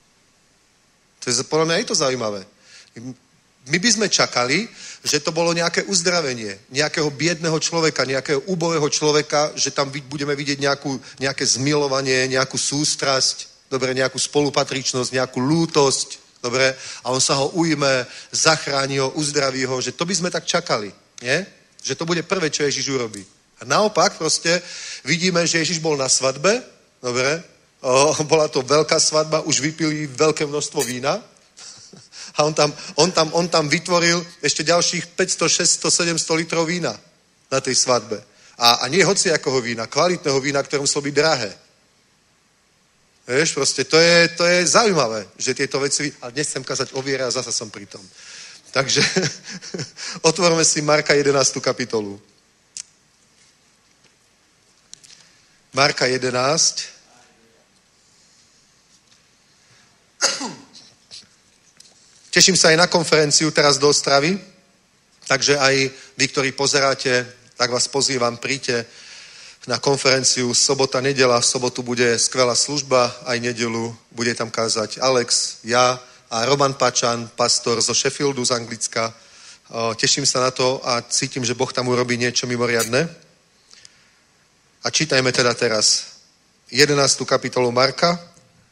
To je, podľa mňa je to zaujímavé. My by sme čakali, že to bolo nejaké uzdravenie, nejakého biedného človeka, nejakého úbohého človeka, že tam budeme vidieť nejakú, nejaké zmilovanie, nejakú sústrasť, dobre, nejakú spolupatričnosť, nejakú lútosť, dobre, a on sa ho ujme, zachráni ho, uzdraví ho, že to by sme tak čakali, nie? Že to bude prvé, čo Ježiš urobí. A naopak proste vidíme, že Ježiš bol na svadbe, dobre, o, bola to veľká svadba, už vypili veľké množstvo vína a on tam, on tam, on tam vytvoril ešte ďalších päťsto, šesťsto, sedemsto litrov vína na tej svadbe. A, a nie hociakého vína, kvalitného vína, ktoré muselo byť drahé. Vieš, proste to je, to je zaujímavé, že tieto veci... A dnes chcem kazať o viere a zasa som pri tom. Takže otvorme si Marka jedenástu kapitolu. Marka jedenásť. Teším sa aj na konferenciu teraz do Ostravy, takže aj vy, ktorí pozeráte, tak vás pozývam, príďte na konferenciu sobota, nedela. V sobotu bude skvelá služba, aj nedelu bude tam kázať Alex, ja a Roman Pačan, pastor zo Sheffieldu z Anglicka. Teším sa na to a cítim, že Boh tam urobí niečo mimoriadne. A čítajme teda teraz jedenástu kapitolu Marka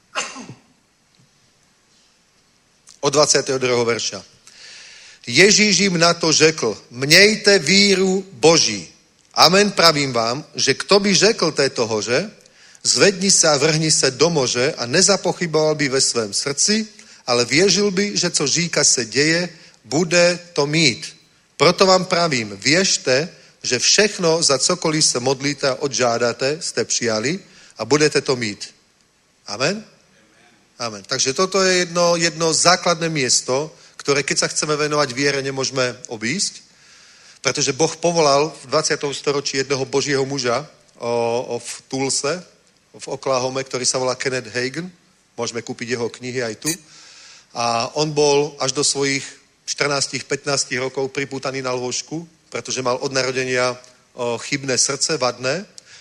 od dvadsiateho druhého verša. Ježíš jim na to řekl, mějte víru Boží. Amen, pravím vám, že kto by řekl této hoře, zvedni se a vrhni se do moře a nezapochyboval by ve svém srdci, ale věřil by, že co říká se děje, bude to mít. Proto vám pravím, věřte, že všechno, za cokoliv se modlíte a odžádáte, jste přijali a budete to mít. Amen? Amen. Takže toto je jedno, jedno základné miesto, ktoré keď sa chceme venovať viere, nemôžeme obísť, pretože Boh povolal v dvadsiatom storočí jedného Božieho muža o, o v Tulse, v Oklahome, ktorý sa volá Kenneth Hagin. Môžeme kúpiť jeho knihy aj tu. A on bol až do svojich štrnásť pätnásť rokov pripútaný na lôžku, pretože mal od narodenia o, chybné srdce, vadné.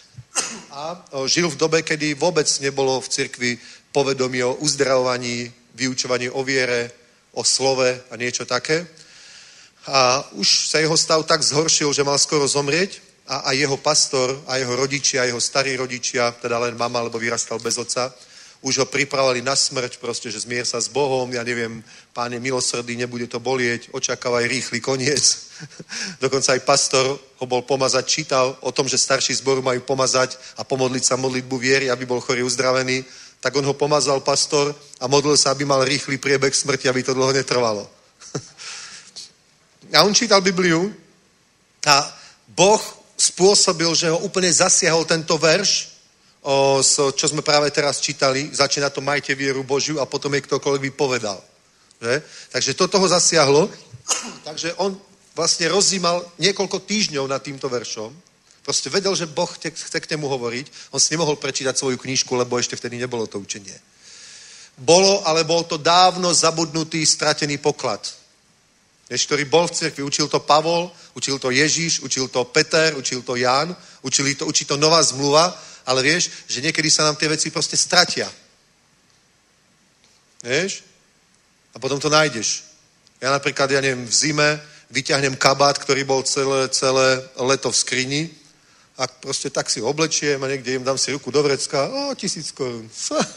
A o, žil v dobe, kedy vôbec nebolo v cirkvi povedomí o uzdravovaní, vyučovaní o viere, o slove a niečo také. A už sa jeho stav tak zhoršil, že mal skoro zomrieť a, a jeho pastor a jeho rodičia, jeho starí rodičia, teda len mama, lebo vyrastal bez otca, už ho pripravovali na smrť, proste, že zmier sa s Bohom, ja neviem, Pán je milosrdný, nebude to bolieť, očakávaj rýchly koniec. Dokonca aj pastor ho bol pomazať, čítal o tom, že starší zboru majú pomazať a pomodliť sa modlitbu viery, aby bol chorý uzdravený. Tak on ho pomazal pastor a modlil sa, aby mal rýchly priebeh smrti, aby to dlho netrvalo. A on čítal Bibliu a Boh spôsobil, že ho úplne zasiahol tento verš, o, čo sme práve teraz čítali. Začína to majte vieru Božiu a potom je ktokoľvek vypovedal. Že? Takže toto ho zasiahlo. Takže on vlastne rozímal niekoľko týždňov nad týmto veršom. Proste vedel, že Boh chce k nemu hovoriť. On si nemohol prečítať svoju knižku, lebo ešte vtedy nebolo to učenie. Bolo, ale bol to dávno zabudnutý, stratený poklad. Vieš, ktorý bol v cirkvi. Učil to Pavol, učil to Ježíš, učil to Peter, učil to Ján, učili to, učí to nová zmluva, ale vieš, že niekedy sa nám tie veci proste stratia. Vieš? A potom to nájdeš. Ja napríklad, ja neviem, v zime vyťahnem kabát, ktorý bol celé, celé leto v skrini a proste tak si oblečiem a niekde im dám si ruku do vrecka, o, tisíc korún.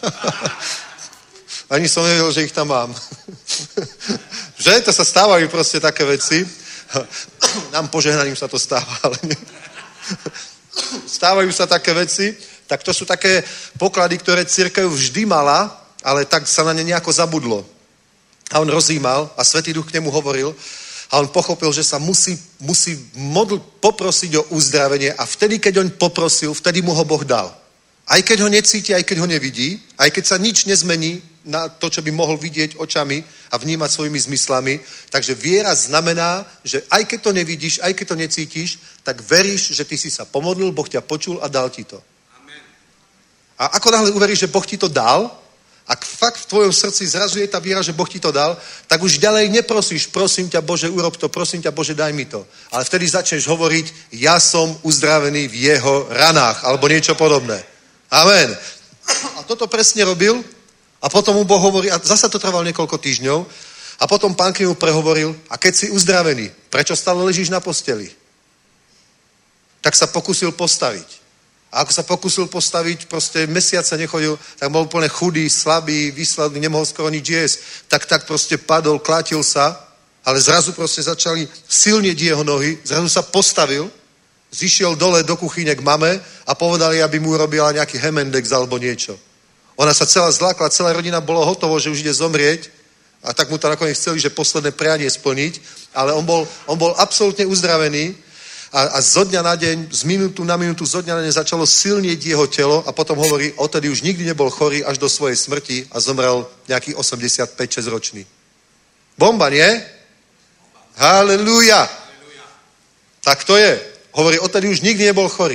Ani som nevedel, že ich tam mám. Že? To sa stávajú proste také veci. Nám požehnaním sa to stáva, ale nie. Stávajú sa také veci, tak to sú také poklady, ktoré cirkev vždy mala, ale tak sa na ne nejako zabudlo. A on rozímal a Svätý Duch k nemu hovoril a on pochopil, že sa musí, musí modl, poprosiť o uzdravenie a vtedy, keď on poprosil, vtedy mu ho Boh dal. Aj keď ho necíti, aj keď ho nevidí, aj keď sa nič nezmení na to, čo by mohol vidieť očami a vnímať svojimi zmyslami. Takže viera znamená, že aj keď to nevidíš, aj keď to necítiš, tak veríš, že ty si sa pomodlil, Boh ťa počul a dal ti to. Amen. A ako náhle uveríš, že Boh ti to dal, ak fakt v tvojom srdci zrazu je tá viera, že Boh ti to dal, tak už ďalej neprosíš, prosím ťa Bože, urob to, prosím ťa Bože, daj mi to. Ale vtedy začneš hovoriť, ja som uzdravený v jeho ranách, alebo niečo podobné. Amen. A toto presne robil a potom mu Boh hovorí, a zasa to trvalo niekoľko týždňov, a potom Pán k nemu prehovoril, a keď si uzdravený, prečo stále ležíš na posteli? Tak sa pokusil postaviť. A ako sa pokusil postaviť, proste mesiac sa nechodil, tak bol úplne chudý, slabý, vysladný, nemohol skoro nič jesť. Tak, tak proste padol, klátil sa, ale zrazu proste začali silnieť jeho nohy, zrazu sa postavil, zišiel dole do kuchyne k mame a povedali, aby mu urobila nejaký hemendex alebo niečo. Ona sa celá zlákla, celá rodina bolo hotovo, že už ide zomrieť a tak mu to nakoniec chceli, že posledné prianie splniť, ale on bol, on bol absolútne uzdravený a, a zo dňa na deň, z minútu na minútu, zo dňa na deň začalo silnieť jeho telo a potom hovorí, odtedy už nikdy nebol chorý až do svojej smrti a zomrel nejaký osemdesiatpäť šesť ročný. Bomba, nie? Halelúja. Tak to je. Hovorí, odtedy už nikdy nebol chorý.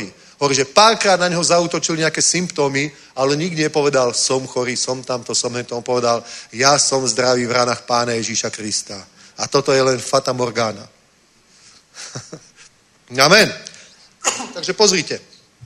Hovorí, že párkrát na neho zaútočili nejaké symptómy, ale nikdy nepovedal, som chorý, som tamto, som hento. On povedal, ja som zdravý v ranách Pána Ježíša Krista. A toto je len fata morgana. Amen. Takže pozrite.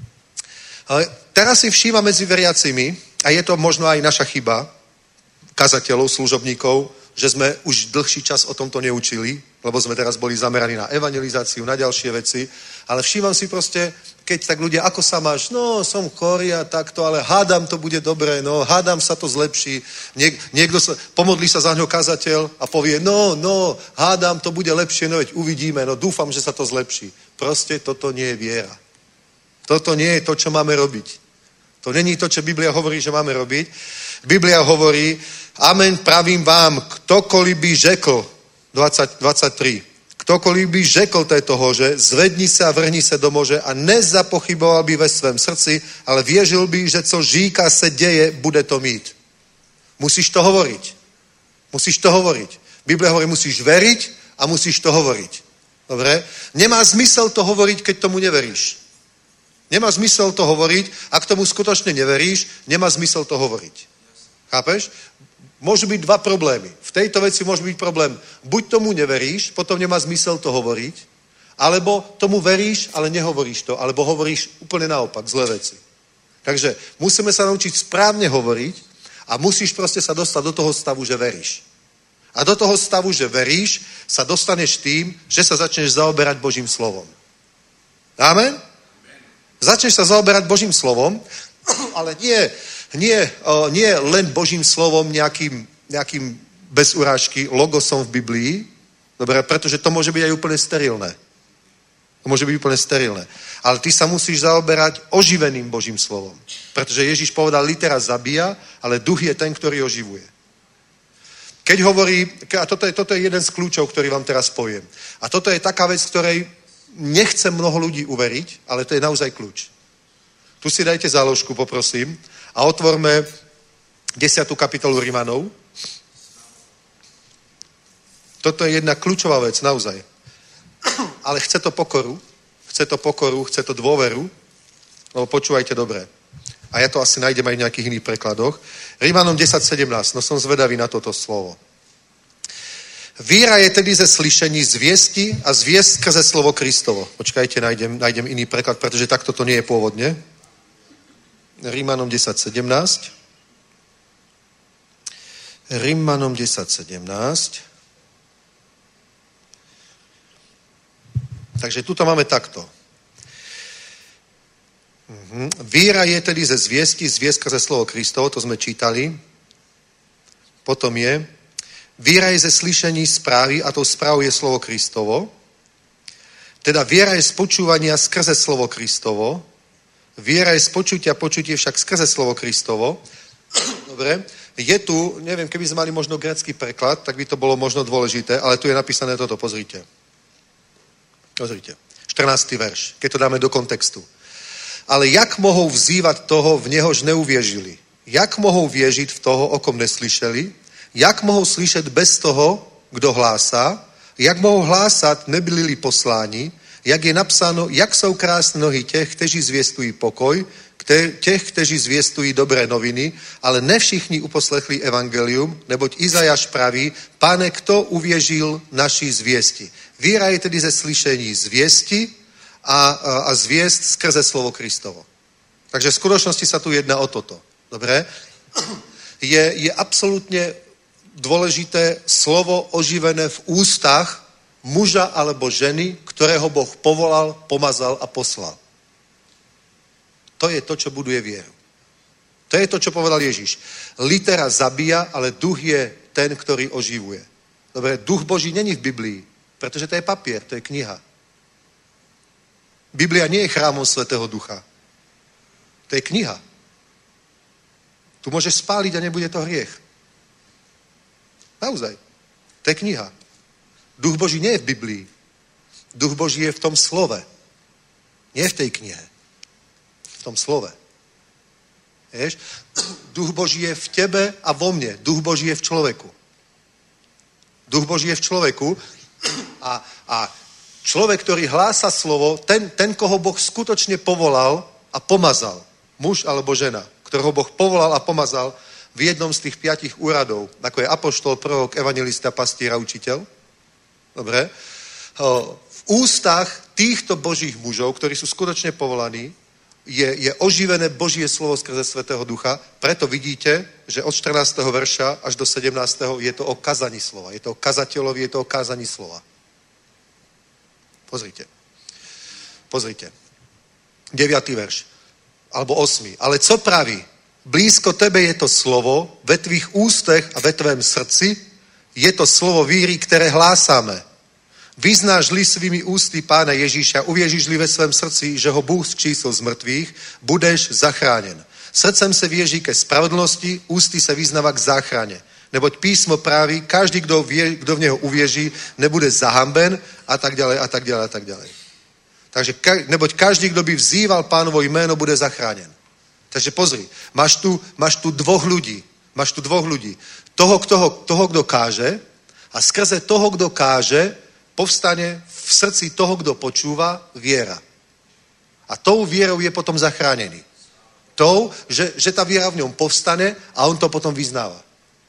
Teraz si všíma medzi veriacimi, a je to možno aj naša chyba, kazateľov, služobníkov, že sme už dlhší čas o tomto neučili, lebo sme teraz boli zameraní na evangelizáciu, na ďalšie veci, ale všímam si proste, keď tak ľudia, ako sa máš, no som chorý a takto, ale hádam to bude dobré, no hádam sa to zlepší. Niek- niekto sa, pomodlí sa za ňo kazateľ a povie, no, no, hádam to bude lepšie, no veď uvidíme, no dúfam, že sa to zlepší. Proste toto nie je viera. Toto nie je to, čo máme robiť. To není to, čo Biblia hovorí, že máme robiť. Biblia hovorí, amen, pravím vám, ktokoliv by řekl, dvadsať, dvadsaťtri, ktokoliv by řekl této hoře, zvedni se a vrhni se do moře a nezapochyboval by ve svém srdci, ale věřil by, že co říká se děje, bude to mít. Musíš to hovoriť. Musíš to hovoriť. Biblia hovorí, musíš veriť a musíš to hovoriť. Dobre? Nemá zmysel to hovoriť, keď tomu neveríš. Nemá zmysel to hovoriť, ak tomu skutočne neveríš, nemá zmysel to hovoriť. Chápeš? Môžu byť dva problémy. V tejto veci môže byť problém. Buď tomu neveríš, potom nemá zmysel to hovoriť, alebo tomu veríš, ale nehovoríš to, alebo hovoríš úplne naopak, zlé veci. Takže musíme sa naučiť správne hovoriť a musíš proste sa dostať do toho stavu, že veríš. A do toho stavu, že veríš, sa dostaneš tým, že sa začneš zaoberať Božím slovom. Amen? Začneš sa zaoberať Božím slovom, ale nie, nie, nie len Božím slovom nejakým, nejakým bez urážky logosom v Biblii, dobre, pretože to môže byť aj úplne sterilné. To môže byť úplne sterilné. Ale ty sa musíš zaoberať oživeným Božím slovom. Pretože Ježíš povedal, litera zabíja, ale duch je ten, ktorý oživuje. Keď hovorí, a toto je, toto je jeden z kľúčov, ktorý vám teraz poviem. A toto je taká vec, ktorej nechce mnoho ľudí uveriť, ale to je naozaj kľúč. Tu si dajte záložku, poprosím, a otvorme desiatu kapitolu Rimanov. Toto je jedna kľúčová vec, naozaj. Ale chce to pokoru, chce to pokoru, chce to dôveru, lebo počúvajte dobre. A ja to asi nájdem aj v nejakých iných prekladoch. Rimanom desať sedemnásť, no som zvedavý na toto slovo. Víra je tedy ze slyšení zviesti a zviest skrze slovo Kristovo. Počkajte, nájdem, nájdem iný preklad, pretože takto to nie je pôvodne. Rimanom desať sedemnásť. Rimanom desať sedemnásť. Takže tuto máme takto. Mhm. Víra je tedy ze zviesti, zviest skrze slovo Kristovo, to sme čítali. Potom je víra je ze slyšení správy a tou správou je slovo Kristovo. Teda viera je z počúvania skrze slovo Kristovo. Viera je z počutia, počutie však skrze slovo Kristovo. Dobre. Je tu, neviem, keby sme mali možno grécky preklad, tak by to bolo možno dôležité, ale tu je napísané toto, pozrite. Pozrite. štrnásty verš, keď to dáme do kontextu. Ale jak mohou vzývať toho, v něhož neuvěřili? Jak mohou věřit v toho, o kom neslyšeli? Jak mohou slyšet bez toho, kdo hlásá? Jak mohou hlásat, nebyli-li posláni? Jak je napsáno, jak jsou krásné nohy těch, kteří zvěstují pokoj, těch, kteří zvěstují dobré noviny, ale ne všichni uposlechli evangelium, neboť Izajáš praví, Pane, kto uvěřil naší zvěsti? Víra je tedy ze slyšení zvěsti a, a, a zvěst skrze slovo Kristovo. Takže v skutočnosti sa tu jedná o toto. Dobre? Je, je absolútne dôležité slovo oživené v ústach muža alebo ženy, ktorého Boh povolal, pomazal a poslal. To je to, čo buduje vieru. To je to, čo povedal Ježíš. Litera zabíja, ale duch je ten, ktorý oživuje. Dobre, duch Boží není v Biblii, pretože to je papier, to je kniha. Biblia nie je chrámom Svätého Ducha. To je kniha. Tu môžeš spáliť a nebude to hriech. Naozaj. To je kniha. Duch Boží nie je v Biblii. Duch Boží je v tom slove. Nie v tej knihe. V tom slove. Vieš? Duch Boží je v tebe a vo mne. Duch Boží je v človeku. Duch Boží je v človeku a, a Človek, ktorý hlása slovo, ten, ten, koho Boh skutočne povolal a pomazal. Muž alebo žena, ktorého Boh povolal a pomazal v jednom z tých piatich úradov, ako je apoštol, prorok, evangelista, pastier a učiteľ. Dobre. V ústach týchto božích mužov, ktorí sú skutočne povolaní, je, je oživené Božie slovo skrze Svätého Ducha. Preto vidíte, že od štrnásteho verša až do sedemnásteho je to o kazaní slova. Je to o kazateľovi, je to o kázaní slova. Pozrite. Pozrite. deviatý verš. Alebo osmý. Ale co praví? Blízko tebe je to slovo, ve tvých ústech a ve tvém srdci je to slovo víry, které hlásáme. Vyznáš-li svými ústy Pána Ježíša, uvěříš-li ve svém srdci, že ho Bůh zkřísil z mrtvých, budeš zachráněn. Srdcem se věří ke spravedlnosti, ústy se vyznává k záchraně. Neboť písmo praví, každý, kdo, vie, kdo v něho uvěří, nebude zahamben a tak dále, a tak dále, a tak dále. Takže, neboť každý, kdo by vzýval Pánovo jméno, bude zachráněn. Takže pozri, máš tu, máš tu dvoch ľudí, máš tu dvoch ľudí. Toho, toho, toho, kdo káže a skrze toho, kdo káže, povstane v srdci toho, kdo počúva, viera. A tou vierou je potom zachránený. Tou, že, že ta viera v něm povstane a on to potom vyznáva.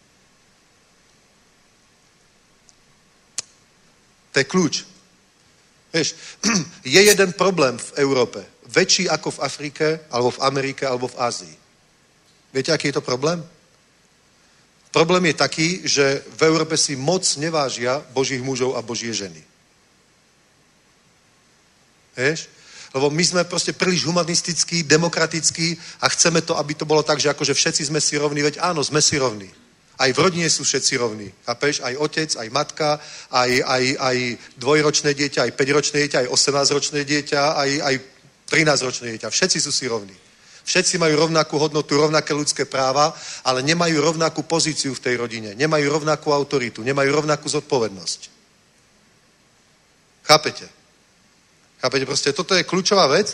To je kľúč. Vieš, je jeden problém v Európe. Väčší ako v Afrike, alebo v Amerike, alebo v Ázii. Viete, aký je to problém? Problém je taký, že v Európe si moc nevážia Božích mužov a Božie ženy. Vieš? Lebo my sme proste príliš humanistickí, demokratickí a chceme to, aby to bolo tak, že akože všetci sme si rovní. Veď áno, sme si rovní. Aj v rodine sú všetci rovní. Chápeš? Aj otec, aj matka, aj, aj, aj dvojročné dieťa, aj päťročné dieťa, aj osemnásťročné dieťa, aj, aj trinásťročné dieťa. Všetci sú si rovní. Všetci majú rovnakú hodnotu, rovnaké ľudské práva, ale nemajú rovnakú pozíciu v tej rodine. Nemajú rovnakú autoritu, nemajú rovnakú zodpovednosť. Chápete? Chápete? Proste toto je kľúčová vec.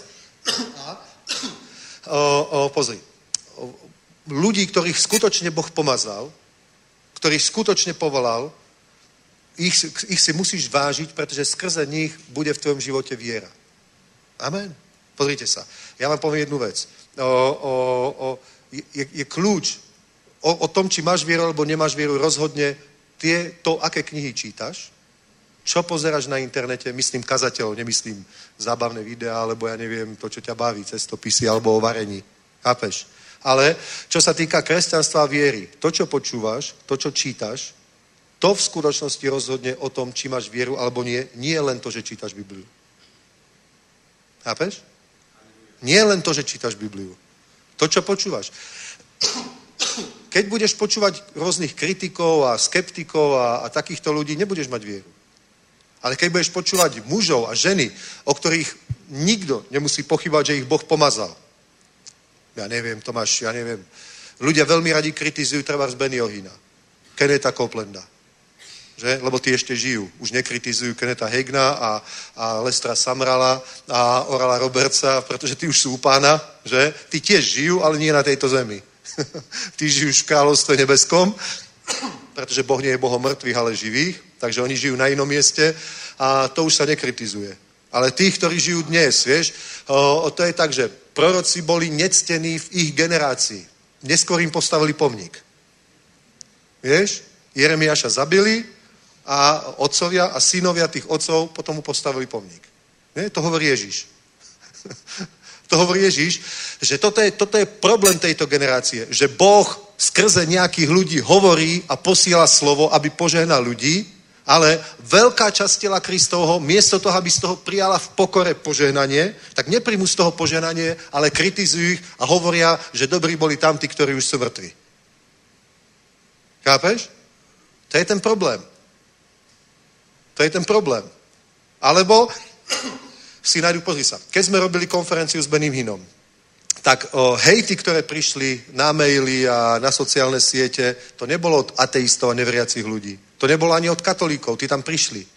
O, o, pozri. O, ľudí, ktorých skutočne Boh pomazal, ktorých skutočne povolal, ich, ich si musíš vážiť, pretože skrze nich bude v tvojom živote viera. Amen. Pozrite sa. Ja vám poviem jednu vec. O, o, o, je, je kľúč o, o tom, či máš vieru alebo nemáš vieru, rozhodne tie, to, aké knihy čítaš, čo pozeráš na internete, myslím kazateľov, nemyslím zábavné videá, alebo ja neviem to, čo ťa baví, cestopisy alebo o varení. Chápeš? Ale čo sa týka kresťanstva a viery, to, čo počúvaš, to, čo čítaš, to v skutočnosti rozhodne o tom, či máš vieru alebo nie, nie len to, že čítaš Bibliu. Chápeš? Nie len to, že čítaš Bibliu. To, čo počúvaš. Keď budeš počúvať rôznych kritikov a skeptikov a, a takýchto ľudí, nebudeš mať vieru. Ale keď budeš počúvať mužov a ženy, o ktorých nikto nemusí pochybať, že ich Boh pomazal. Ja neviem, Tomáš, ja neviem. Ľudia veľmi radi kritizujú trebárs Bennyho Hinna, Kennetha Copelanda. Že? Lebo tí ešte žijú. Už nekritizujú Kennetha Hagina a, a Lestera Sumralla a Orala Robertsa, pretože tí už sú u Pána, že? Tí tiež žijú, ale nie na tejto zemi. Tí žijú v kráľovstve nebeskom, pretože Boh nie je Bohom mŕtvych, ale živých, takže oni žijú na inom mieste a to už sa nekritizuje. Ale tých, ktorí žijú dnes, vieš, o, to je tak, že proroci boli nectení v ich generácii. Neskôr im postavili pomník. Vieš? Jeremiáša zabili a otcovia a synovia tých otcov potom mu postavili pomník. Nie? To hovorí Ježíš. To hovorí Ježíš, že toto je, toto je problém tejto generácie, že Boh skrze nejakých ľudí hovorí a posiela slovo, aby požehnal ľudí, ale veľká časť tela Kristovho, miesto toho, aby z toho prijala v pokore požehnanie, tak nepríjmu z toho požehnanie, ale kritizujú ich a hovoria, že dobrí boli tam tí, ktorí už sú mŕtvi. Chápeš? To je ten problém. To je ten problém. Alebo si nájdu, pozri sa, keď sme robili konferenciu s Benným Hinnom, tak o, hejty, ktoré prišli na maily a na sociálne siete, to nebolo od ateistov a neveriacich ľudí. To nebolo ani od katolíkov, tí tam prišli.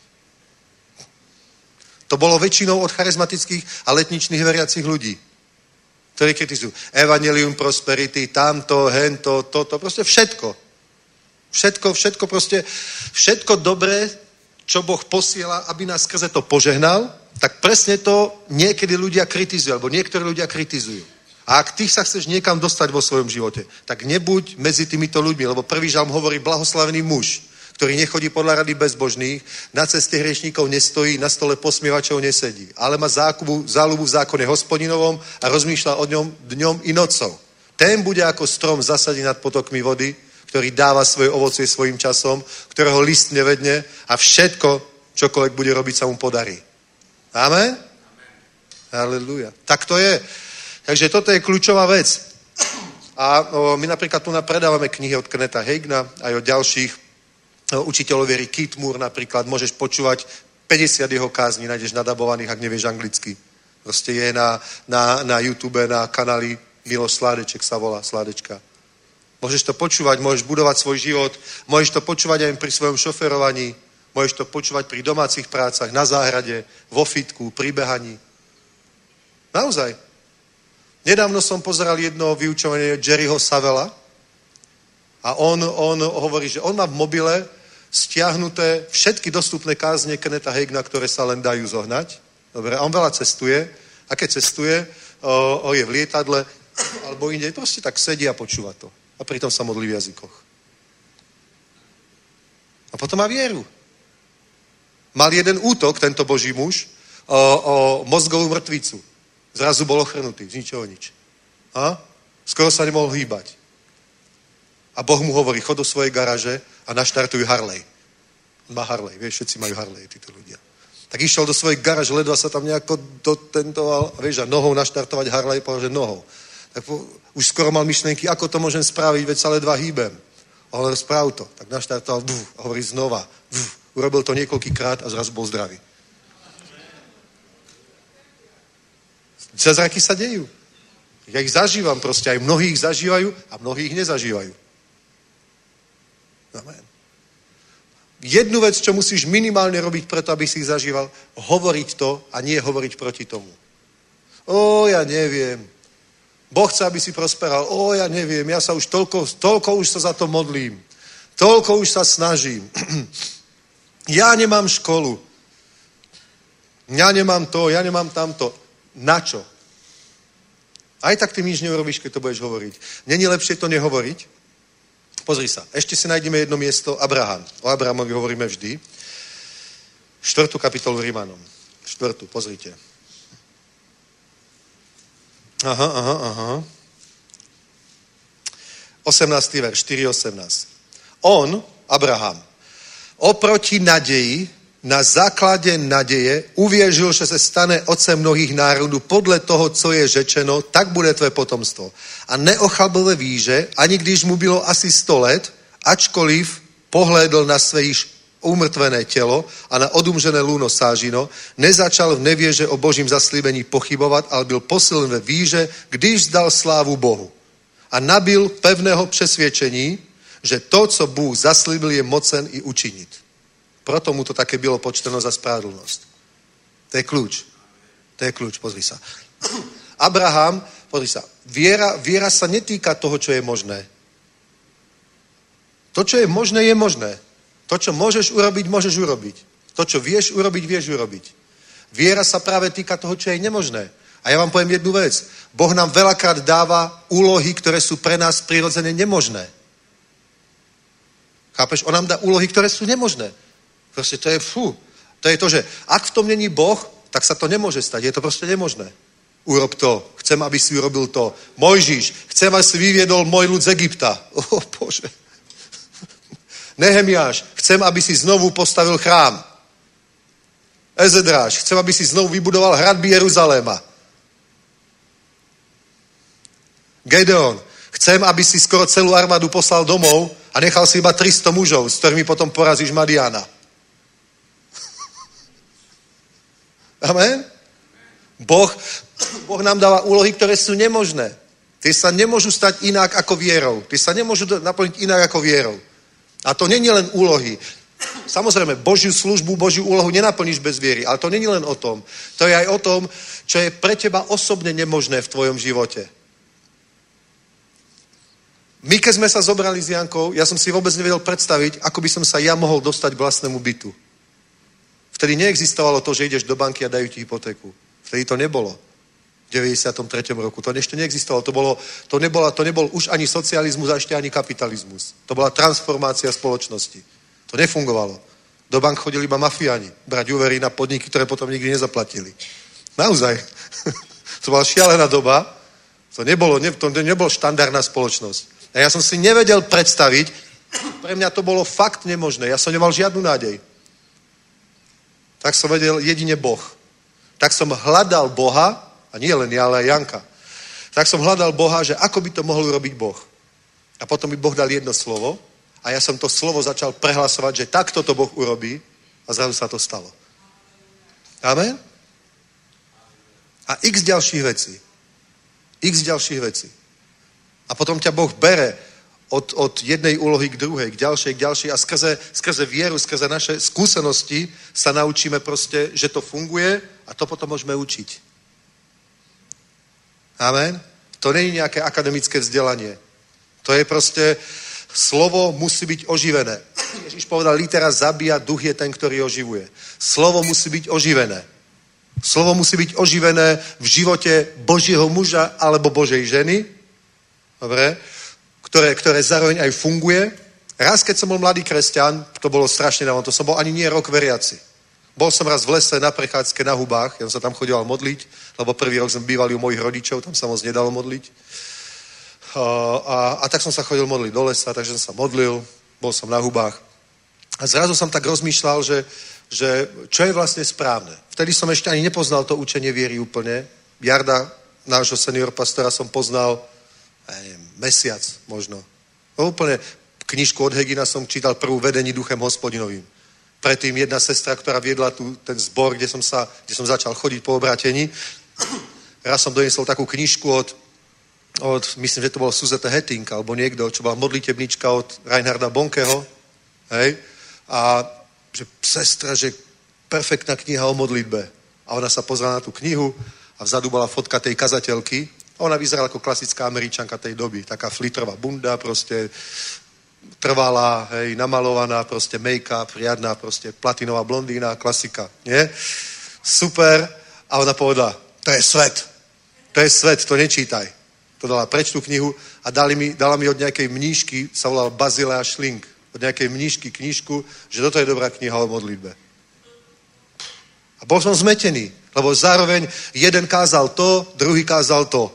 To bolo väčšinou od charizmatických a letničných veriacich ľudí, ktorí kritizujú Evangelium Prosperity, tamto, hento, toto, proste všetko. Všetko, všetko proste, všetko dobré, čo Boh posiela, aby nás skrze to požehnal, tak presne to niekedy ľudia kritizujú, alebo niektorí ľudia kritizujú. A ak ty sa chceš niekam dostať vo svojom živote, tak nebuď medzi týmito ľuďmi, lebo prvý žalm hovorí blahoslavený muž, ktorý nechodí podľa rady bezbožných, na ceste hriešníkov nestojí, na stole posmievačov nesedí, ale má zákubu, záľubu v zákone hospodinovom a rozmýšľa o ňom dňom i nocou. Ten bude ako strom zasadený nad potokmi vody, ktorý dáva svoje ovocie svojím časom, ktorého list nevedne a všetko, čokoľvek bude robiť, sa mu podarí. Amen? Amen. Halelúja. Tak to je. Takže toto je kľúčová vec. A o, my napríklad tu predávame knihy od Kennetha Hagina aj od ďalších o, učiteľov viery. Keith Moore napríklad. Môžeš počúvať päťdesiat jeho kázní, nájdeš nadabovaných, ak nevieš anglicky. Proste je na, na, na YouTube, na kanáli Miloš Sládeček sa volá, Sládečka. Môžeš to počúvať, môžeš budovať svoj život, môžeš to počúvať aj pri svojom šoferovaní, môžeš to počúvať pri domácich prácach, na záhrade, vo fitku, pri behaní. Naozaj. Nedávno som pozeral jedno vyučovanie Jerryho Savella a on, on hovorí, že on má v mobile stiahnuté všetky dostupné kázne Kennetha Hagina, ktoré sa len dajú zohnať. Dobre, a on veľa cestuje a keď cestuje, o, o je v lietadle alebo inde, proste tak sedí a počúva to. A pritom sa modlí v jazykoch. A potom má vieru. Mal jeden útok, tento boží muž, o, o mozgovú mŕtvicu. Zrazu bol ochrnutý, z ničoho nič. A? Skoro sa nemohol hýbať. A Boh mu hovorí, chod do svojej garaže a naštartuj Harley. Má Harley, vieš, všetci majú Harley, títo ľudia. Tak išiel do svojej garaže, ledva sa tam nejako dotentoval, a vieš, a nohou naštartovať Harley, povedal, že nohou. Tak po, už skoro mal myšlenky, ako to môžem spraviť, veď sa ledva hýbem. A hovoril, správ to. Tak naštartoval, buf, a hovorí znova. Buf, urobil to niekoľkýkrát a zrazu bol zdravý. Zázraky sa dejú. Ja ich zažívam proste, aj mnohí ich zažívajú a mnohí ich nezažívajú. Amen. Jednu vec, čo musíš minimálne robiť preto, aby si ich zažíval, hovoriť to a nie hovoriť proti tomu. Ó, ja neviem. Boh chce, aby si prosperal. Ó, ja neviem, ja sa už toľko, toľko už sa za to modlím. Toľko už sa snažím. Ja nemám školu. Ja nemám to, ja nemám tamto. Na čo? Aj tak ty nič neurobíš, keď to budeš hovoriť. Není lepšie to nehovoriť? Pozri sa. Ešte si nájdeme jedno miesto. Abraham. O Abrahamovi hovoríme vždy. Štvrtú kapitolu Rímanom. Štvrtú, pozrite. Aha, aha, aha. osemnásty verš, štyri osemnásť. On, Abraham, oproti nadeji, na základe nadeje uvěřil, že se stane otcem mnohých národů podle toho, co je řečeno, tak bude tvé potomstvo. A neochabl ve víře, ani když mu bylo asi sto let, ačkoliv pohlédl na své již umrtvené tělo a na odumřené lůno sážino, nezačal v nevěře o božím zaslíbení pochybovat, ale byl posilen ve víře, když zdal slávu Bohu. A nabil pevného přesvědčení, že to, co Bůh zaslíbil, je mocen i učinit. Proto mu to také bylo počteno za spravedlnosť. To je kľúč. To je kľúč, pozri sa. Abraham, pozri sa, viera, viera sa netýka toho, čo je možné. To, čo je možné, je možné. To, čo môžeš urobiť, môžeš urobiť. To, čo vieš urobiť, vieš urobiť. Viera sa práve týka toho, čo je nemožné. A ja vám poviem jednu vec. Boh nám veľakrát dáva úlohy, ktoré sú pre nás prirodzene nemožné. Chápeš? On nám dá úlohy, ktoré sú nemožné. Proste to je, fú, to je to, že ak v tom není Boh, tak sa to nemôže stať. Je to proste nemožné. Urob to. Chcem, aby si urobil to. Mojžiš, chcem, aby si vyviedol môj ľud z Egypta. O, oh, Bože. Nehemiáš, chcem, aby si znovu postavil chrám. Ezedráš, chcem, aby si znovu vybudoval hradby Jeruzaléma. Gedeon, chcem, aby si skoro celú armádu poslal domov a nechal si iba tristo mužov, s ktorými potom porazíš Madiana. Amen? Boh, boh nám dáva úlohy, ktoré sú nemožné. Tie sa nemôžu stať inak ako vierou. Tie sa nemôžu naplniť inak ako vierou. A to není len úlohy. Samozrejme, Božiu službu, Božiu úlohu nenaplníš bez viery, ale to není len o tom. To je aj o tom, čo je pre teba osobne nemožné v tvojom živote. My, keď sme sa zobrali s Jankou, ja som si vôbec nevedel predstaviť, ako by som sa ja mohol dostať k vlastnému bytu. Vtedy neexistovalo to, že ideš do banky a dajú ti hypotéku. Vtedy to nebolo. V deväťdesiatom treťom roku. To ešte neexistovalo. To, bolo, to, nebola, to nebol už ani socializmus a ešte ani kapitalizmus. To bola transformácia spoločnosti. To nefungovalo. Do bank chodili iba mafiáni. Brať úvery na podniky, ktoré potom nikdy nezaplatili. Naozaj. To bola šialená doba. To nebolo, ne, to nebolo štandardná spoločnosť. A ja som si nevedel predstaviť, pre mňa to bolo fakt nemožné. Ja som nemal žiadnu nádej. Tak som vedel jedine Boh. Tak som hľadal Boha, a nie len ja, ale aj Janka. Tak som hľadal Boha, že ako by to mohol urobiť Boh. A potom mi Boh dal jedno slovo a ja som to slovo začal prehlasovať, že takto to Boh urobí a zrazu sa to stalo. Amen? A x ďalších vecí. X ďalších vecí. A potom ťa Boh bere od, od jednej úlohy k druhej, k ďalšej, k ďalšej a skrze, skrze vieru, skrze naše skúsenosti sa naučíme proste, že to funguje a to potom môžeme učiť. Amen? To nie je nejaké akademické vzdelanie. To je proste, slovo musí byť oživené. Ježiš povedal, litera zabíja, duch je ten, ktorý oživuje. Slovo musí byť oživené. Slovo musí byť oživené v živote Božieho muža alebo Božej ženy, dobre, ktoré, ktoré zároveň aj funguje. Raz, keď som bol mladý kresťan, to bolo strašne dávno, to som bol ani nie rok veriaci. Bol som raz v lese na prechádzke na hubách, ja som sa tam chodil modliť, lebo prvý rok sme bývali u mojich rodičov, tam sa moc nedalo modliť. A, a, a tak som sa chodil modliť do lesa, takže som sa modlil, bol som na hubách. A zrazu som tak rozmýšľal, že, že čo je vlastne správne. Vtedy som ešte ani nepoznal to učenie viery úplne. Jarda, nášho senior pastora, som poznal ja neviem, mesiac možno. No úplne knižku od Hegina som čítal prvú Vedení duchem hospodinovým. Predtým jedna sestra, ktorá viedla tu ten zbor, kde som, sa, kde som začal chodiť po obrátení. Raz som doniesol takú knižku od, od myslím, že to bolo Suzette Hetting, alebo niekto, čo bola modlitebnička od Reinharda Bonkeho. Hej? A že sestra, že perfektná kniha o modlitbe. A ona sa pozrela na tú knihu a vzadu bola fotka tej kazateľky. A ona vyzerala ako klasická Američanka tej doby. Taká flitrová bunda, proste trvalá, hej, namalovaná, proste make-up, riadná, proste platinová blondína, klasika, nie? Super. A ona povedala, to je svet. To je svet, to nečítaj. To dala preč tú knihu a dali mi, dala mi od nejakej mníšky, sa volala Bazilea Schling, od nejakej mníšky knižku, že toto je dobrá kniha o modlitbe. A bol som zmetený, lebo zároveň jeden kázal to, druhý kázal to.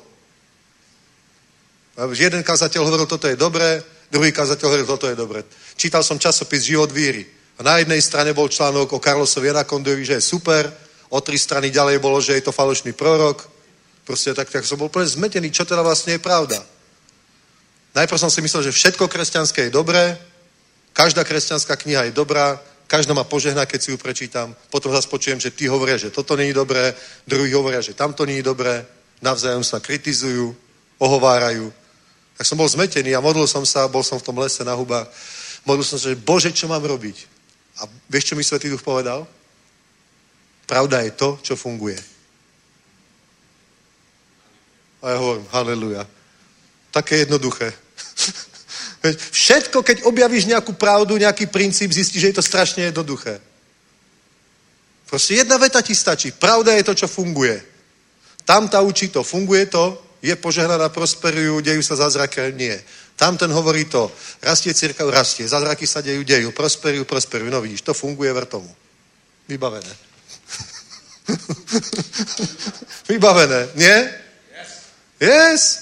Jeden kázateľ hovoril, toto je dobré, druhý kázateľ hovoril, toto je dobré. Čítal som časopis Život víry. A na jednej strane bol článok o Carlosovi Anacondovi, že je super, o tri strany ďalej bolo, že je to falošný prorok. Proste tak, tak som bol úplne zmetený, čo teda vlastne je pravda. Najprv som si myslel, že všetko kresťanské je dobré, každá kresťanská kniha je dobrá, každá ma požehná, keď si ju prečítam. Potom zase počujem, že tí hovoria, že toto není dobré, druhý hovoria, že tamto není dobré, navzájom sa kritizujú, ohovárajú. Tak som bol zmetený a modlil som sa, bol som v tom lese na hubách. Modlil som sa, že Bože, čo mám robiť? A vieš, čo mi Svätý Duch povedal? Pravda je to, čo funguje. A ja hovorím, haleluja. Také jednoduché. Všetko, keď objavíš nejakú pravdu, nejaký princíp, zistíš, že je to strašne jednoduché. Proste jedna veta ti stačí. Pravda je to, čo funguje. Tam tá učí to, funguje to, je požehnaná, prosperujú, dejú sa zázraky, nie. Tam ten hovorí to, rastie cirkev, rastie, zázraky sa dejú, dejú, prosperujú, prosperujú. No vidíš, to funguje, ver tomu. Vybavené. Vybavené, nie? Yes. Yes.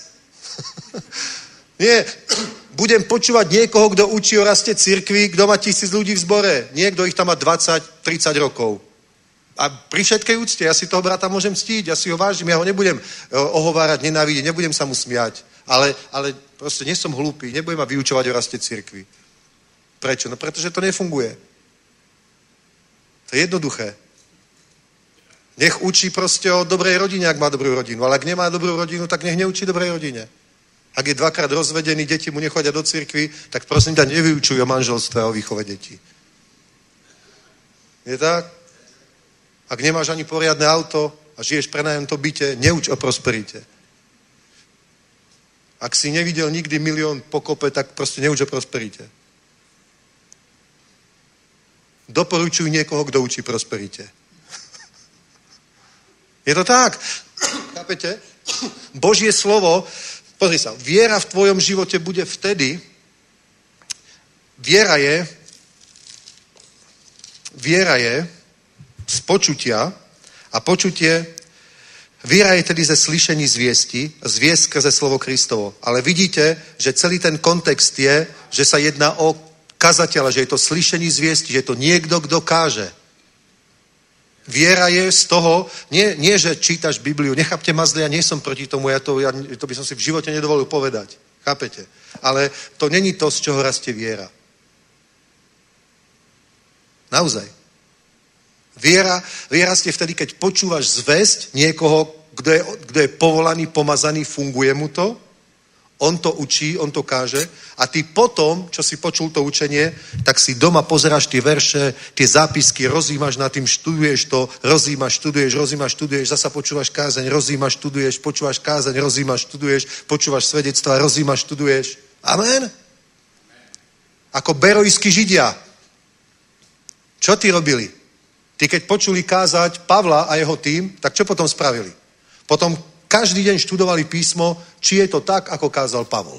Nie. Budem počúvať niekoho, kto učí o raste cirkvi, kto má tisíc ľudí v zbore. Niekto ich tam má dvadsať tridsať rokov. A pri všetkej úcte, ja si toho brata môžem ctiť, ja si ho vážim, ja ho nebudem ohovárať, nenávidieť, nebudem sa mu smiať. Ale, ale proste nie som hlúpy, nebudem ma vyučovať o raste cirkvi. Prečo? No pretože to nefunguje. To je jednoduché. Nech učí proste o dobrej rodine, ak má dobrú rodinu. Ale ak nemá dobrú rodinu, tak nech neučí dobrej rodine. Ak je dvakrát rozvedený, deti mu nechodia do cirkvi, tak prosím ťa, nevyučuj o manželstve a o výchove detí. Je tak? Ak nemáš ani poriadne auto a žiješ pre nájomnom byte, neuč o prosperite. Ak si nevidel nikdy milión po kope, tak proste neuč o prosperite. doporučuj niekoho, kto učí prosperite. Je to tak. Chápete? Božie slovo, pozri sa, viera v tvojom živote bude vtedy, viera je, viera je z počutia a počutie, viera je tedy ze slyšení zviesti, zviest skrze slovo Kristovo. Ale vidíte, že celý ten kontext je, že sa jedná o kazateľa, že je to slyšení zviesti, že je to niekto, kto káže. Viera je z toho, nie, nie že čítaš Bibliu, nechápte ma zle, ja nie som proti tomu, ja to, ja, to by som si v živote nedovolil povedať. Chápete? Ale to není to, z čoho rastie viera. Naozaj. Viera, viera ste vtedy, keď počúvaš zvesť niekoho, kto je, kto je povolaný, pomazaný, funguje mu to, on to učí, on to káže a ty potom, čo si počul to učenie, tak si doma pozeráš tie verše, tie zápisky, rozjímaš nad tým, študuješ to, rozjímaš, študuješ, rozjímaš, študuješ, zasa počúvaš kázeň, rozjímaš, študuješ, počúvaš kázeň, rozjímaš, študuješ, počúvaš svedectvá, rozjímaš, študuješ. Amen? Ako berojskí Židia. Čo ty robili? Ty keď počuli kázať Pavla a jeho tým, tak čo potom spravili? Potom každý deň študovali písmo, či je to tak, ako kázal Pavol.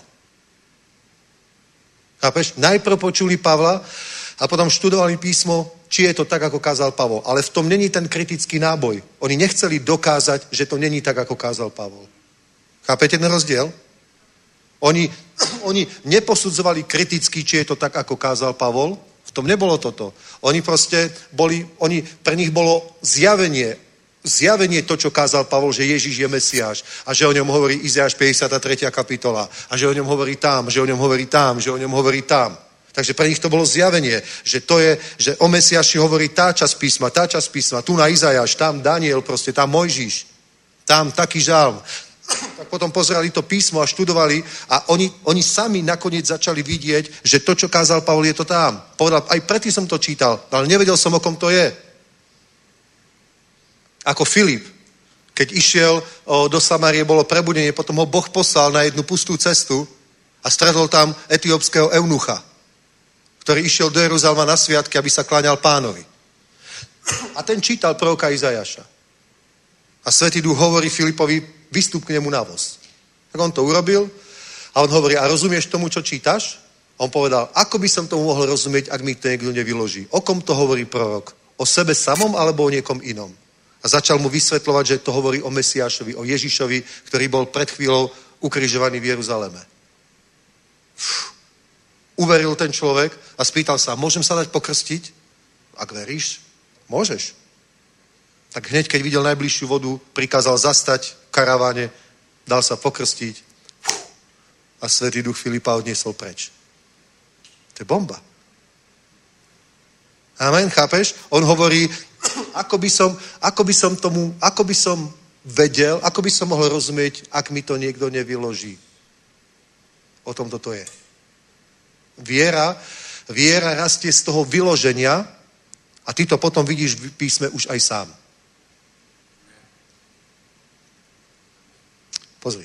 Chápeš? Najprv počuli Pavla a potom študovali písmo, či je to tak, ako kázal Pavol. Ale v tom není ten kritický náboj. Oni nechceli dokázať, že to není tak, ako kázal Pavol. Chápete ten rozdiel? Oni, oni neposudzovali kriticky, či je to tak, ako kázal Pavol. V tom nebolo toto. Oni proste boli, oni, pre nich bolo zjavenie, zjavenie to, čo kázal Pavol, že Ježiš je Mesiáš a že o ňom hovorí Izajáš päťdesiata tretia kapitola a že o ňom hovorí tam, že o ňom hovorí tam, že o ňom hovorí tam. Takže pre nich to bolo zjavenie, že to je, že o Mesiáši hovorí tá časť písma, tá časť písma, tu na Izajáš, tam Daniel, proste tam Mojžiš, tam taký žalm. Tak potom pozerali to písmo a študovali a oni, oni sami nakoniec začali vidieť, že to, čo kázal Pavol, je to tam. Povedal, aj predtým som to čítal, ale nevedel som, o kom to je. Ako Filip, keď išiel o, do Samárie, bolo prebudenie, potom ho Boh poslal na jednu pustú cestu a stretol tam etiópskeho eunucha, ktorý išiel do Jeruzalema na sviatky, aby sa kláňal Pánovi. A ten čítal proroka Izajaša. A Svätý Duch hovorí Filipovi, vystup k nemu na voz. Tak on to urobil a on hovorí, a rozumieš tomu, čo čítaš? A on povedal, ako by som tomu mohol rozumieť, ak mi to niekto nevyloží. O kom to hovorí prorok? O sebe samom alebo o niekom inom? A začal mu vysvetľovať, že to hovorí o Mesiášovi, o Ježišovi, ktorý bol pred chvíľou ukrižovaný v Jeruzaleme. Uf. Uveril ten človek a spýtal sa, môžem sa dať pokrstiť? Ak veríš, môžeš. Tak hneď, keď videl najbližšiu vodu, prikázal zastať v karaváne, dal sa pokrstiť uf, a Svätý Duch Filipa odniesol preč. To je bomba. Amen, chápeš? On hovorí, ako by som, ako by som tomu, ako by som vedel, ako by som mohol rozumieť, ak mi to niekto nevyloží. O tom toto je. Viera, viera rastie z toho vyloženia a ty to potom vidíš v písme už aj sám. Pozri.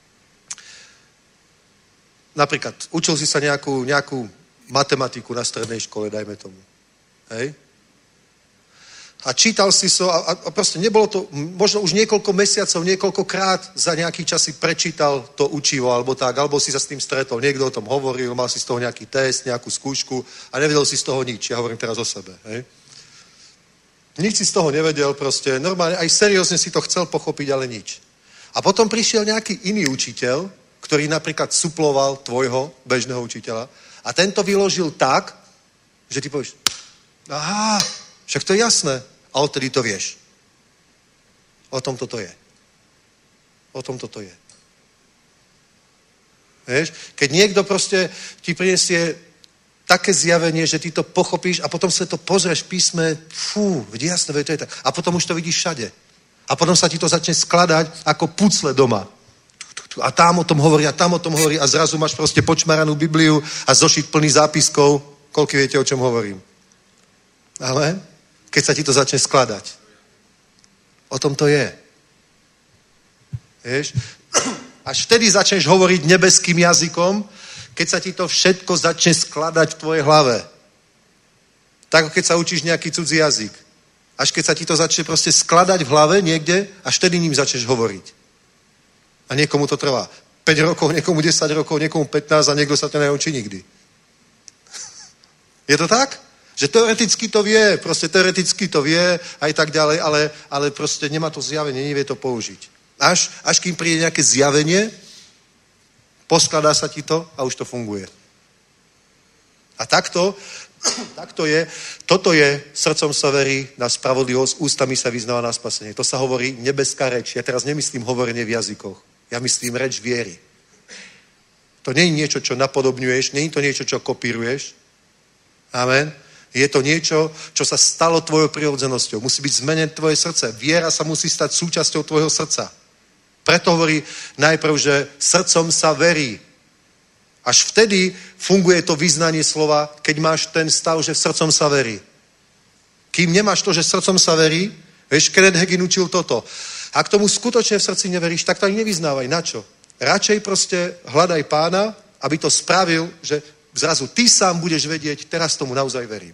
Napríklad, učil si sa nejakú, nejakú matematiku na strednej škole, dajme tomu. Hej? A čítal si so a, a proste nebolo to, možno už niekoľko mesiacov, niekoľkokrát za nejaký čas si prečítal to učivo, alebo tak, alebo si sa s tým stretol, niekto o tom hovoril, mal si z toho nejaký test, nejakú skúšku a nevedel si z toho nič. Ja hovorím teraz o sebe. Hej? Nič si z toho nevedel, proste normálne, aj seriózne si to chcel pochopiť, ale nič. A potom prišiel nejaký iný učiteľ, ktorý napríklad suploval tvojho bežného učiteľa a tento vyložil tak, že ty povieš, aha, však to je jasné. A odtedy to vieš. O tom toto je. O tom toto je. Vieš? Keď niekto proste ti prinesie také zjavenie, že ty to pochopíš a potom sa to pozrieš v písme, fú, vidí jasné, to je tak. A potom už to vidíš všade. A potom sa ti to začne skladať ako pucle doma. A tam o tom hovorí, a tam o tom hovorí a zrazu máš proste počmaranú Bibliu a zošit plný zápiskov. Koľko viete, o čom hovorím? Ale keď sa ti to začne skladať. O tom to je. Vieš? Až vtedy začneš hovoriť nebeským jazykom, keď sa ti to všetko začne skladať v tvojej hlave. Tak keď sa učíš nejaký cudzí jazyk. Až keď sa ti to začne proste skladať v hlave niekde, až tedy ním začneš hovoriť. A niekomu to trvá päť rokov, niekomu desať rokov, niekomu pätnásť a niekto sa to neučí nikdy. Je to tak? Že teoreticky to vie, proste teoreticky to vie aj tak ďalej, ale, ale proste nemá to zjavenie, nevie to použiť. Až, až kým príde nejaké zjavenie, poskladá sa ti to a už to funguje. A takto, takto je, toto je, srdcom sa verí na spravodlivosť, ústami sa vyznáva na spasenie. To sa hovorí nebeská reč. Ja teraz nemyslím hovorenie v jazykoch. Ja myslím reč viery. To nie je niečo, čo napodobňuješ, nie je to niečo, čo kopíruješ. Amen. Je to niečo, čo sa stalo tvojou prirodzenosťou. Musí byť zmenené tvoje srdce. Viera sa musí stať súčasťou tvojho srdca. Preto hovorí najprv, že srdcom sa verí. Až vtedy funguje to vyznanie slova, keď máš ten stav, že srdcom sa verí. Kým nemáš to, že srdcom sa verí, vieš, Kenneth Hagin učil toto. Ak tomu skutočne v srdci neveríš, tak to ani nevyznávaj. Na čo? Radšej proste hľadaj Pána, aby to spravil, že zrazu ty sám budeš vedieť, teraz tomu naozaj verím.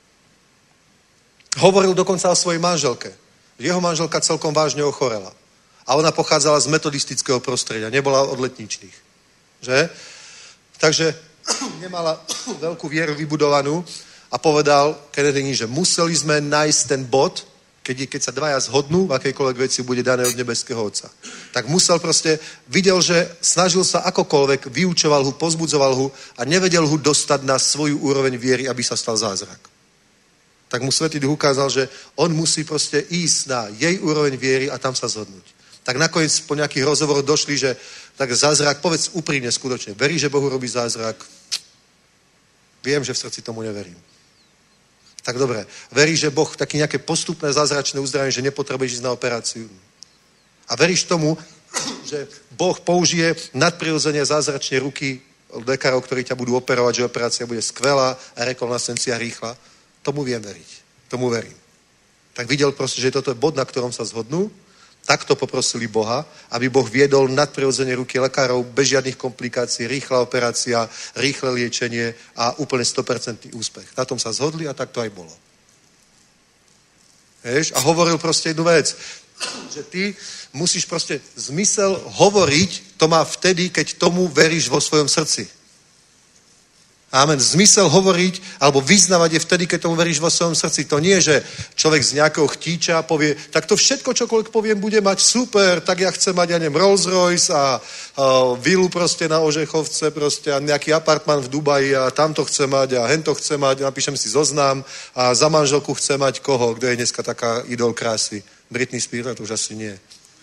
Hovoril dokonca o svojej manželke. Jeho manželka celkom vážne ochorela. A ona pochádzala z metodistického prostredia, nebola od letničných. Že? Takže nemala veľkú vieru vybudovanú a povedal Kennedy, že museli sme nájsť ten bod, keď, keď sa dvaja zhodnú, v akejkoľvek veci bude dané od nebeského Otca. Tak musel proste, videl, že snažil sa akokoľvek, vyučoval ho, pozbudzoval ho a nevedel ho dostať na svoju úroveň viery, aby sa stal zázrak. Tak mu Svätý Duch ukázal, že on musí proste ísť na jej úroveň viery a tam sa zhodnúť. Tak nakoniec po nejakých rozhovoroch došli, že tak zázrak, povedz úprimne skutočne, verí, že Bohu robí zázrak? Viem, že v srdci tomu neverím. Tak dobre, veríš, že Boh taký nejaké postupné zázračné uzdravenie, že nepotrebuješ ísť na operáciu. A veríš tomu, že Boh použije nadprirodzene zázračne ruky lekárov, ktorí ťa budú operovať, že operácia bude skvelá a rekonvalescencia rýchla. Tomu viem veriť. Tomu verím. Tak videl proste, že toto je bod, na ktorom sa zhodnú. Takto poprosili Boha, aby Boh viedol nadprirodzene ruky lekárov bez žiadnych komplikácií, rýchla operácia, rýchle liečenie a úplne sto percent úspech. Na tom sa zhodli a tak to aj bolo. Vieš? A hovoril proste jednu vec, že ty musíš proste zmysel hovoriť, to má vtedy, keď tomu veríš vo svojom srdci. Amen. Zmysel hovoriť alebo vyznávať je vtedy, keď tomu veríš vo svojom srdci. To nie, že človek z nejakého chtíča povie, tak to všetko, čokoľvek poviem, bude mať super, tak ja chcem mať, ja neviem, Rolls Royce a, a vilu proste na Ožechovce proste a nejaký apartman v Dubaji a tamto chce mať a hento chce mať, napíšem si zoznam a za manželku chce mať koho, kto je dneska taká idol krásy. Britney Spears, to už asi nie.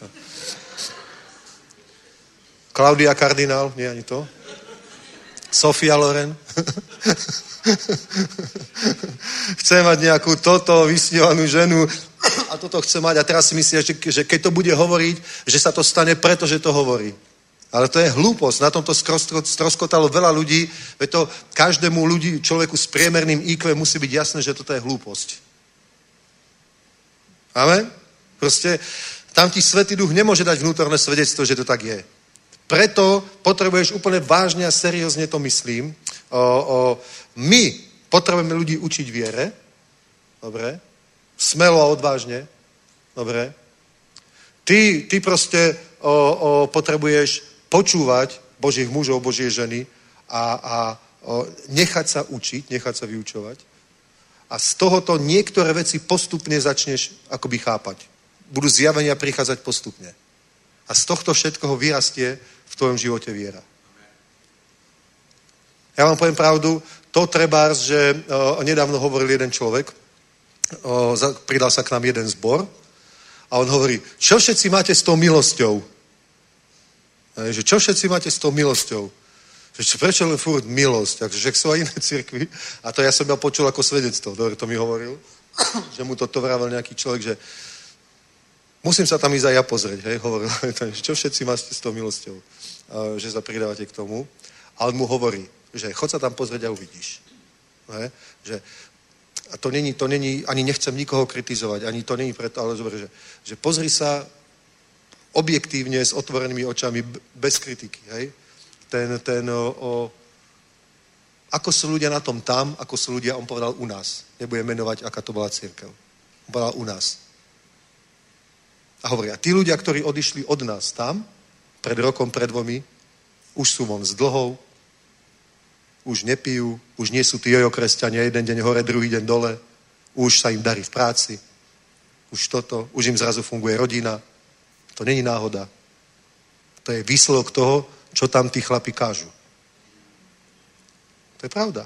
Claudia Cardinal, nie ani to. Sofia Loren. Chce mať nejakú toto vysnívanú ženu a toto chce mať a teraz si myslí, že, že keď to bude hovoriť, že sa to stane preto, že to hovorí. Ale to je hlúposť. Na tomto stroskotalo veľa ľudí, veď to každému ľudí, človeku s priemerným í kvé musí byť jasné, že toto je hlúposť. Amen? Proste tam ti Svätý Duch nemôže dať vnútorné svedectvo, že to tak je. Preto potrebuješ úplne vážne a seriózne to myslím. O, o, my potrebujeme ľudí učiť viere. Dobre. Smelo a odvážne. Dobre. Ty, ty proste o, o, potrebuješ počúvať Božích mužov, Božie ženy a, a o, nechať sa učiť, nechať sa vyučovať. A z tohoto niektoré veci postupne začneš akoby chápať. Budú zjavenia prichádzať postupne. A z tohto všetkoho vyrastie v tvojom živote viera. Ja vám poviem pravdu, to trebárs, že o, nedávno hovoril jeden človek, o, za, pridal sa k nám jeden zbor a on hovorí, čo všetci máte s tou milosťou? E, že čo všetci máte s tou milosťou? Že prečo len furt milosť? Takže sú aj iné cirkvi. A to ja som ja počul ako svedectvo. Dobre, to mi hovoril. Že mu toto vravel nejaký človek, že musím sa tam ísť aj ja pozrieť. Hej? Hovoril, čo všetci máte s tou milosťou? A, že sa pridávate k tomu. A on mu hovorí, že chod sa tam pozrieť a uvidíš. Hej? Že, a to není, to není, ani nechcem nikoho kritizovať, ani to není preto, ale zober, že, že pozri sa objektívne s otvorenými očami, bez kritiky. Hej? Ten, ten o, o, Ako sú ľudia na tom tam, ako sú ľudia, on povedal u nás. Nebudem menovať, aká to bola cirkev. On povedal u nás. A hovorí, a tí ľudia, ktorí odišli od nás tam, pred rokom, pred dvomi, už sú von s dlhou, už nepijú, už nie sú tí jojo kresťania, jeden deň hore, druhý deň dole, už sa im darí v práci, už toto, už im zrazu funguje rodina. To není náhoda. To je výsledok toho, čo tam tí chlapi kážu. To je pravda.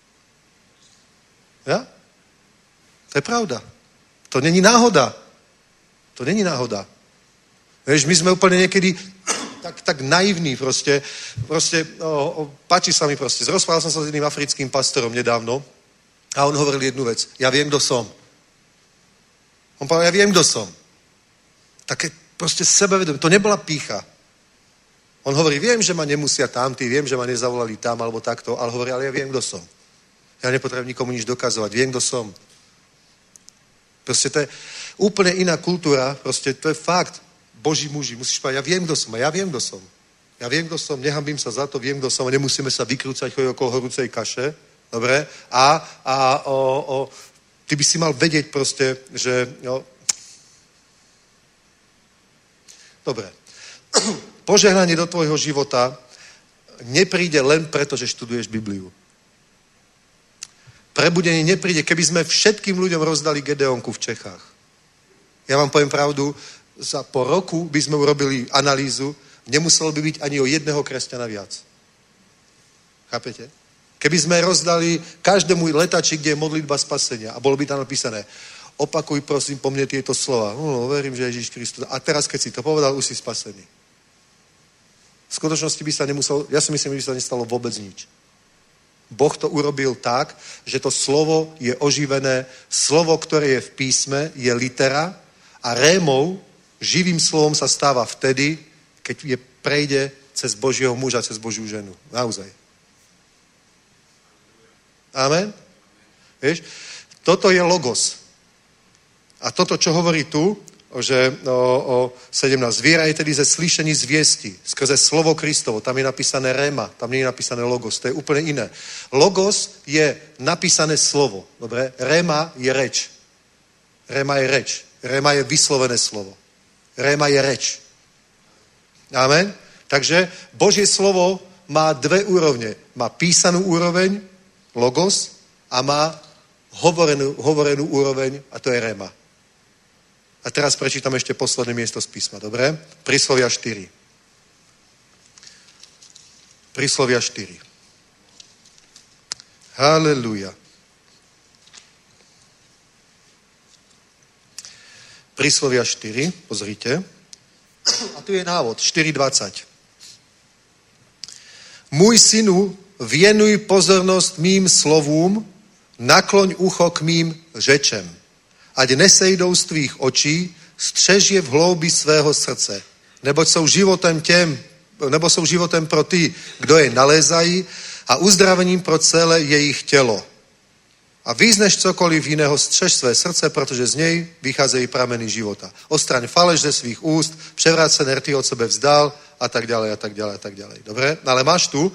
Ja? To je pravda. To není náhoda. To není náhoda. Vieš, my sme úplne niekedy tak, tak naivní proste. Proste, o, o, páči sa mi proste. Zrozprával som sa s jedným africkým pastorom nedávno a on hovoril jednu vec. Ja viem, kto som. On povedal, ja viem, kto som. Také proste sebevedomie. To nebola pýcha. On hovorí, viem, že ma nemusia tamtí, viem, že ma nezavolali tam alebo takto, ale hovorí, ale ja viem, kto som. Ja nepotrebujem nikomu nič dokazovať. Viem, kto som. Proste to je úplne iná kultúra. Proste to je fakt. Boží muži, musíš povedať, ja viem, kto som. A ja viem, kto som. Ja viem, kto som. Nehambím sa za to, viem, kto som. A nemusíme sa vykrúcať chodiť okolo horúcej kaše. Dobre? A, a o, o, ty by si mal vedieť proste, že... Jo. Dobre. Požehnanie do tvojho života nepríde len preto, že študuješ Bibliu. Prebudenie nepríde, keby sme všetkým ľuďom rozdali Gedeonku v Čechách. Ja vám poviem pravdu, za po roku by sme urobili analýzu, nemuselo by byť ani o jedného kresťana viac. Chápete? Keby sme rozdali každému letači, kde je modlitba spasenia a bolo by tam napísané, opakuj prosím po mne tieto slova. No, verím, že Ježíš Kristus. A teraz, keď si to povedal, už si spasený. V skutočnosti by sa nemuselo, ja si myslím, že by sa nestalo vôbec nič. Boh to urobil tak, že to slovo je oživené, slovo, ktoré je v písme, je litera a rémou, živým slovom sa stáva vtedy, keď je prejde cez Božieho muža, cez Božiu ženu. Naozaj. Amen? Vieš? Toto je logos. A toto, čo hovorí tu, že o, o sedemnásť. Viera je tedy ze slyšení zviesti, skrze slovo Kristovo. Tam je napísané réma, tam nie je napísané logos. To je úplne iné. Logos je napísané slovo. Dobre? Réma je reč. Réma je reč. Réma je vyslovené slovo. Réma je reč. Amen? Takže Božie slovo má dve úrovne. Má písanú úroveň, logos, a má hovorenú, hovorenú úroveň, a to je réma. A teraz prečítam ešte posledné miesto z písma, dobre? Príslovia štyri. Príslovia štyri. Halelúja. Príslovia štyri, pozrite. A tu je návod, štyri dvadsať. Môj synu, věnuj pozornosť mým slovům, nakloň ucho k mým řečem. Ať nesejdou z tvých očí, střež je v hloubi svého srdce. Neboť jsou životem těm, nebo jsou životem pro ty, kdo je nalézají a uzdravením pro celé jejich tělo. A víc než cokoliv jiného střež své srdce, protože z něj vycházejí prameny života. Ostraň faleš ze svých úst, převrácené rty od sebe vzdal a tak ďalej a tak ďalej a tak ďalej. Dobre? No ale máš tu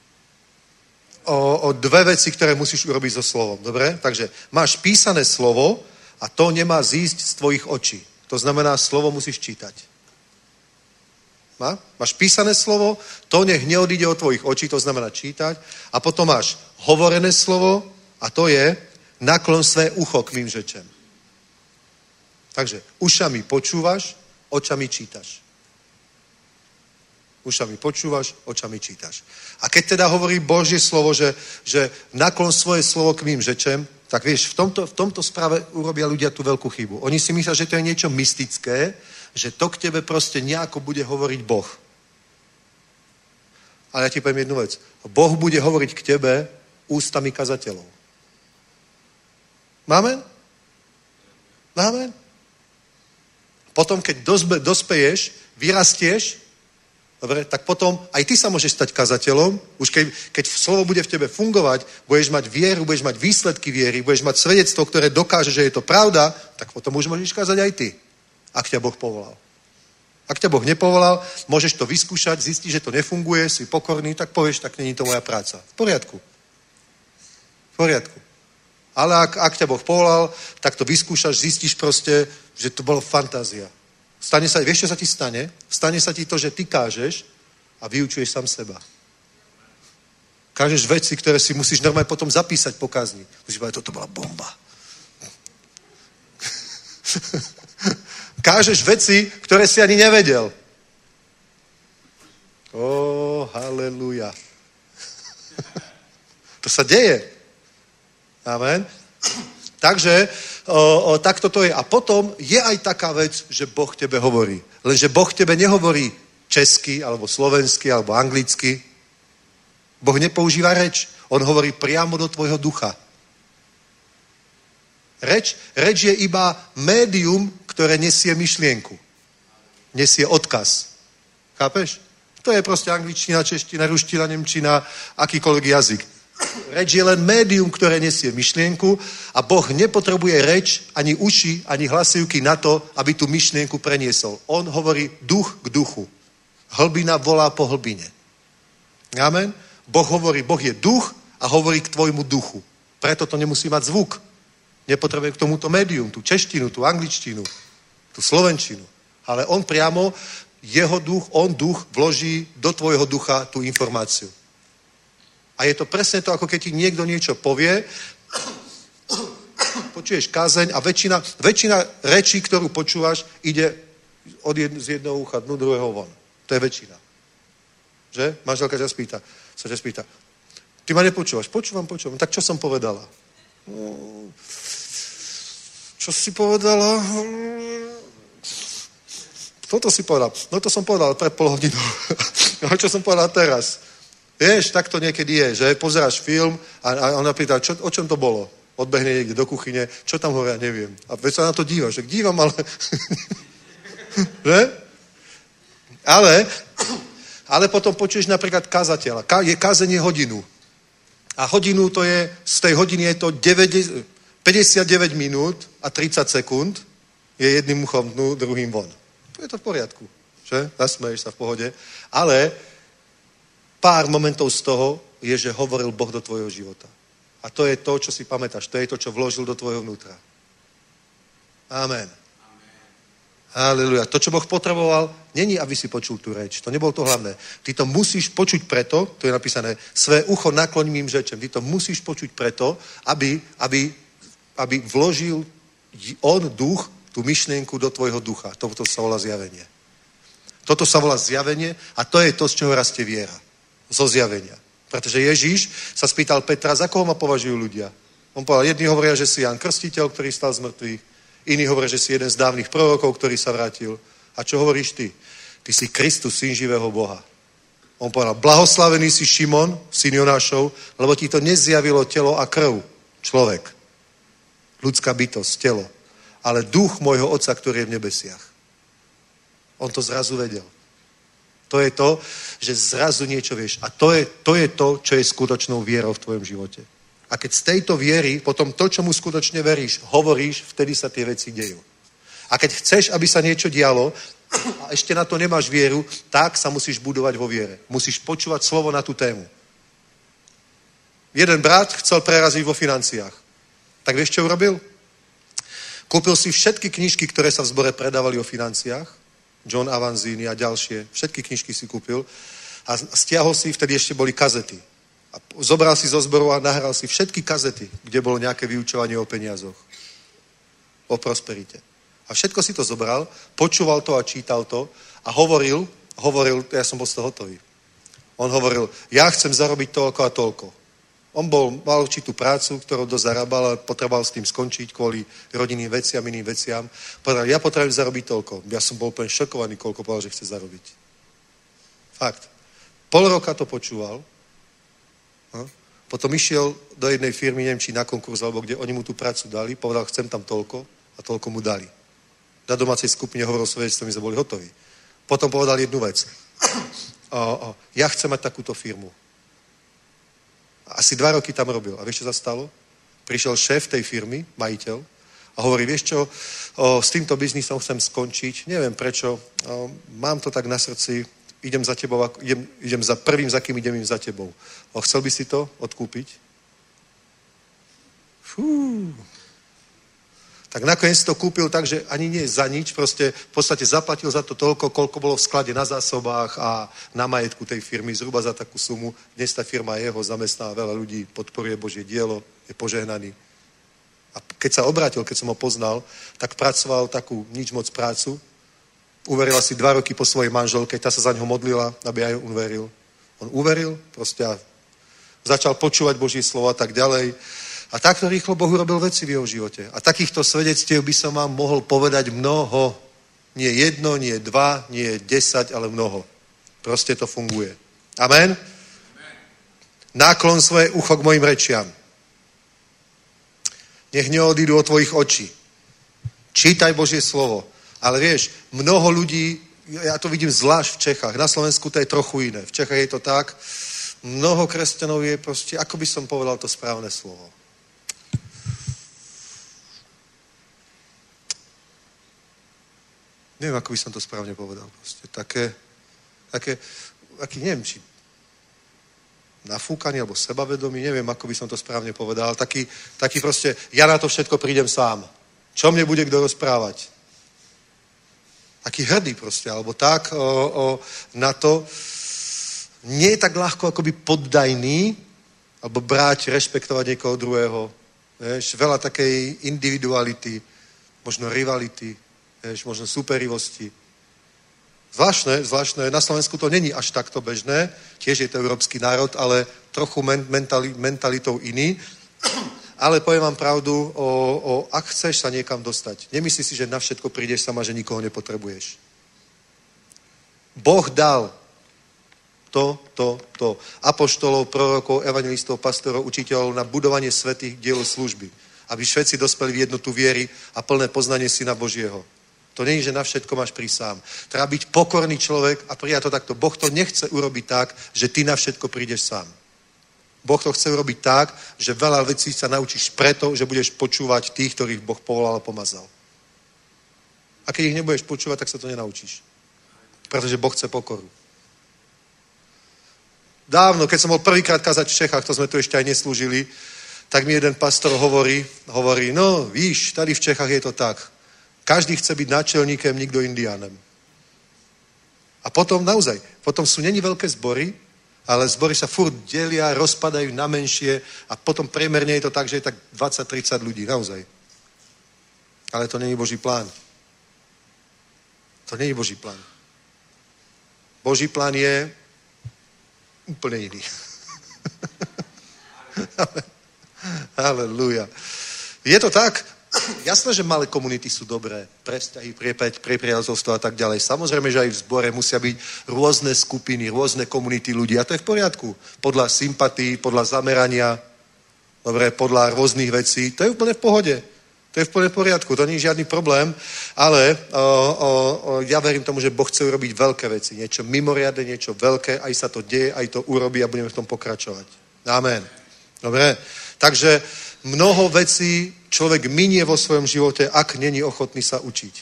o, o dve veci, ktoré musíš urobiť so slovom. Dobre? Takže máš písané slovo a to nemá zísť z tvojich očí. To znamená, slovo musíš čítať. Má? Máš písané slovo, to nech neodíde od tvojich očí, to znamená čítať. A potom máš hovorené slovo a to je naklon své ucho k mým řečem. Takže ušami počúvaš, očami čítaš. Ušami počúvaš, očami čítaš. A keď teda hovorí Božie slovo, že, že naklon svoje slovo k mým řečem, tak vieš, v tomto, v tomto správe urobia ľudia tú veľkú chybu. Oni si myslia, že to je niečo mystické, že to k tebe proste nejako bude hovoriť Boh. Ale ja ti poviem jednu vec. Boh bude hovoriť k tebe ústami kazateľov. Máme? Máme? Potom, keď dospe, dospeješ, vyrastieš, dobre, tak potom aj ty sa môžeš stať kazateľom. Už keď, keď slovo bude v tebe fungovať, budeš mať vieru, budeš mať výsledky viery, budeš mať svedectvo, ktoré dokáže, že je to pravda, tak potom už môžeš kázať aj ty, ak ťa Boh povolal. Ak ťa Boh nepovolal, môžeš to vyskúšať, zistiť, že to nefunguje, si pokorný, tak povieš, tak není to moja práca. V poriadku. V poriadku. Ale ak, ak ťa Boh povolal, tak to vyskúšaš, zistíš proste, že to bolo fantázia. Stane sa, vieš, čo sa ti stane? Stane sa ti to, že ty kážeš a vyučuješ sám seba. Kážeš veci, ktoré si musíš normálne potom zapísať po kázni. Musíš povedať, toto bola bomba. Kážeš veci, ktoré si ani nevedel. Ó, haleluja. To sa deje. Amen. Takže o, o, takto to je. A potom je aj taká vec, že Boh tebe hovorí. Lenže Boh tebe nehovorí česky, alebo slovensky, alebo anglicky. Boh nepoužíva reč. On hovorí priamo do tvojho ducha. Reč, reč je iba médium, ktoré nesie myšlienku. Nesie odkaz. Chápeš? To je proste angličtina, čeština, ruština, nemčina, akýkoľvek jazyk. Reč je len médium, ktoré nesie myšlienku a Boh nepotrebuje reč, ani uši, ani hlasivky na to, aby tú myšlienku preniesol. On hovorí duch k duchu. Hlbina volá po hlbine. Amen? Boh hovorí, Boh je duch a hovorí k tvojmu duchu. Preto to nemusí mať zvuk. Nepotrebuje k tomuto médium, tú češtinu, tú angličtinu, tú slovenčinu. Ale on priamo, jeho duch, on duch vloží do tvojho ducha tú informáciu. A je to presne to, ako keď ti niekto niečo povie, počuješ kázeň a väčšina, väčšina rečí, ktorú počúvaš, ide od jedno, z jedného ucha dnu druhého von. To je väčšina. Že? Manželka ťa spýta, sa ťa spýta, ty ma nepočúvaš? Počúvam, počúvam. Tak čo som povedala? No, čo si povedala? Toto si povedal. No to som povedal pred pol hodinu. No čo som povedal teraz? Vieš, tak to niekedy je, že pozeráš film a, a ona pýta, čo, o čom to bolo? Odbehne niekde do kuchyne, čo tam hovoria, neviem. A veď sa na to dívaš, že dívam, ale... že? Ale, ale potom počuješ napríklad kazateľa. Ka, je kázenie hodinu. A hodinu to je, z tej hodiny je to deväťdesiat, päťdesiatdeväť minút a tridsať sekúnd je jedným uchom dnu, druhým von. To je to v poriadku, že? Zasmeješ sa v pohode. Ale pár momentov z toho je, že hovoril Boh do tvojho života. A to je to, čo si pamätáš. To je to, čo vložil do tvojho vnútra. Amen. Halleluja. To, čo Boh potreboval, není, aby si počul tú reč. To nebolo to hlavné. Ty to musíš počuť preto, to je napísané, své ucho nakloň mým řečem. Ty to musíš počuť preto, aby, aby, aby vložil on duch, tú myšlienku do tvojho ducha. Toto sa volá zjavenie. Toto sa volá zjavenie a to je to, z čoho rastie viera. Zo zjavenia. Pretože Ježíš sa spýtal Petra, za koho ma považujú ľudia. On povedal, jedni hovoria, že si Ján Krstiteľ, ktorý stal z mŕtvych, iní hovoria, že si jeden z dávnych prorokov, ktorý sa vrátil. A čo hovoríš ty? Ty si Kristus, syn živého Boha. On povedal, blahoslavený si Šimon, syn Jonášov, lebo ti to nezjavilo telo a krv. Človek. Ľudská bytosť, telo. Ale duch môjho otca, ktorý je v nebesiach. On to zrazu vedel. To je to, že zrazu niečo vieš. A to je, to je to, čo je skutočnou vierou v tvojom živote. A keď z tejto viery, potom to, čomu skutočne veríš, hovoríš, vtedy sa tie veci dejú. A keď chceš, aby sa niečo dialo a ešte na to nemáš vieru, tak sa musíš budovať vo viere. Musíš počúvať slovo na tú tému. Jeden brat chcel preraziť vo financiách. Tak vieš, čo urobil? Kúpil si všetky knižky, ktoré sa v zbore predávali o financiách. John Avanzini a ďalšie. Všetky knižky si kúpil. A stiahol si, vtedy ešte boli kazety. A zobral si zo zboru a nahral si všetky kazety, kde bolo nejaké vyučovanie o peniazoch. O prosperite. A všetko si to zobral, počúval to a čítal to a hovoril, hovoril, ja som bol z toho hotový. On hovoril, ja chcem zarobiť toľko a toľko. On bol, mal určitú prácu, ktorú dozarábal a potreboval s tým skončiť kvôli rodinným veciam, iným veciam. Povedal, ja potrebujem zarobiť toľko. Ja som bol úplne šokovaný, koľko povedal, že chce zarobiť. Fakt. Pol roka to počúval. No. Potom išiel do jednej firmy, neviem, či na konkurs, alebo kde oni mu tú prácu dali. Povedal, chcem tam toľko a toľko mu dali. Na domácej skupine hovoril svedectvo, my sme boli hotoví. Potom povedal jednu vec. O, o, ja chcem mať takúto firmu. Asi dva roky tam robil. A vieš, čo sa stalo? Prišiel šéf tej firmy, majiteľ, a hovorí, vieš čo, o, s týmto biznisom chcem skončiť, neviem prečo, o, mám to tak na srdci, idem za tebou, idem, idem za prvým, za kým idem im za tebou. O, chcel by si to odkúpiť? Fú. Tak nakoniec to kúpil tak, že ani nie za nič, proste v podstate zaplatil za to toľko, koľko bolo v sklade na zásobách a na majetku tej firmy, zhruba za takú sumu. Dnes tá firma jeho zamestná veľa ľudí, podporuje Božie dielo, je požehnaný. A keď sa obrátil, keď som ho poznal, tak pracoval takú nič moc prácu, uveril asi dva roky po svojej manželke, tá sa za ňo modlila, aby aj on uveril. On uveril, proste a začal počúvať Božie slovo a tak ďalej. A takto rýchlo Boh urobil veci v jeho živote. A takýchto svedectiev by som vám mohol povedať mnoho. Nie jedno, nie dva, nie desať, ale mnoho. Proste to funguje. Amen? Náklon svoje ucho k mojim rečiam. Nech neodídu od tvojich očí. Čítaj Božie slovo. Ale vieš, mnoho ľudí, ja to vidím zvlášť v Čechách, na Slovensku to je trochu iné. V Čechách je to tak, mnoho kresťanov je proste, ako by som povedal to správne slovo. Neviem, ako by som to správne povedal. Proste také, také, aký, neviem, či nafúkaný, alebo sebavedomý, neviem, ako by som to správne povedal. Taký, taký proste, ja na to všetko prídem sám. Čo mne bude kto rozprávať? Taký hrdý proste, alebo tak o, o, na to. Nie je tak ľahko akoby poddajný, alebo brať, rešpektovať niekoho druhého. Vieš, veľa takej individuality, možno rivality, vieš, možno superivosti. Zvláštne, zvláštne, na Slovensku to není až takto bežné, tiež je to európsky národ, ale trochu mentali, mentalitou iný. Ale poviem vám pravdu, o, o, ak chceš sa niekam dostať, nemyslí si, že na všetko prídeš sama, že nikoho nepotrebuješ. Boh dal to, to, to. Apoštolov, prorokov, evangelistov, pastorov, učiteľov na budovanie svätých diel služby. Aby všetci dospeli v jednotu viery a plné poznanie Syna Božieho. To nie je, že na všetko máš prísť sám. Treba byť pokorný človek a prijať to takto. Boh to nechce urobiť tak, že ty na všetko prídeš sám. Boh to chce urobiť tak, že veľa vecí sa naučíš preto, že budeš počúvať tých, ktorých Boh povolal a pomazal. A keď ich nebudeš počúvať, tak sa to nenaučíš. Pretože Boh chce pokoru. Dávno, keď som bol prvýkrát kázať v Čechách, to sme tu ešte aj neslúžili, tak mi jeden pastor hovorí, hovorí, no víš, tady v Čechách je to tak. Každý chce byť náčelníkem, nikto indiánem. A potom naozaj, potom sú není veľké zbory, ale zbory sa furt delia, rozpadajú na menšie a potom priemerne je to tak, že je tak dvadsať tridsať ľudí, naozaj. Ale to není Boží plán. To není Boží plán. Boží plán je úplne iný. Halelúja. Je to tak? Jasné, že malé komunity sú dobré. Pre vzťahy, pre, pre priateľstvo a tak ďalej. Samozrejme, že aj v zbore musia byť rôzne skupiny, rôzne komunity ľudí. A to je v poriadku. Podľa sympatí, podľa zamerania, dobre, podľa rôznych vecí. To je úplne v pohode. To je úplne v poriadku. To nie je žiadny problém. Ale o, o, o, ja verím tomu, že Boh chce urobiť veľké veci. Niečo mimoriadne, niečo veľké. Aj sa to deje, aj to urobí a budeme v tom pokračovať. Amen. Dobre. Takže mnoho vecí človek minie vo svojom živote, ak není ochotný sa učiť.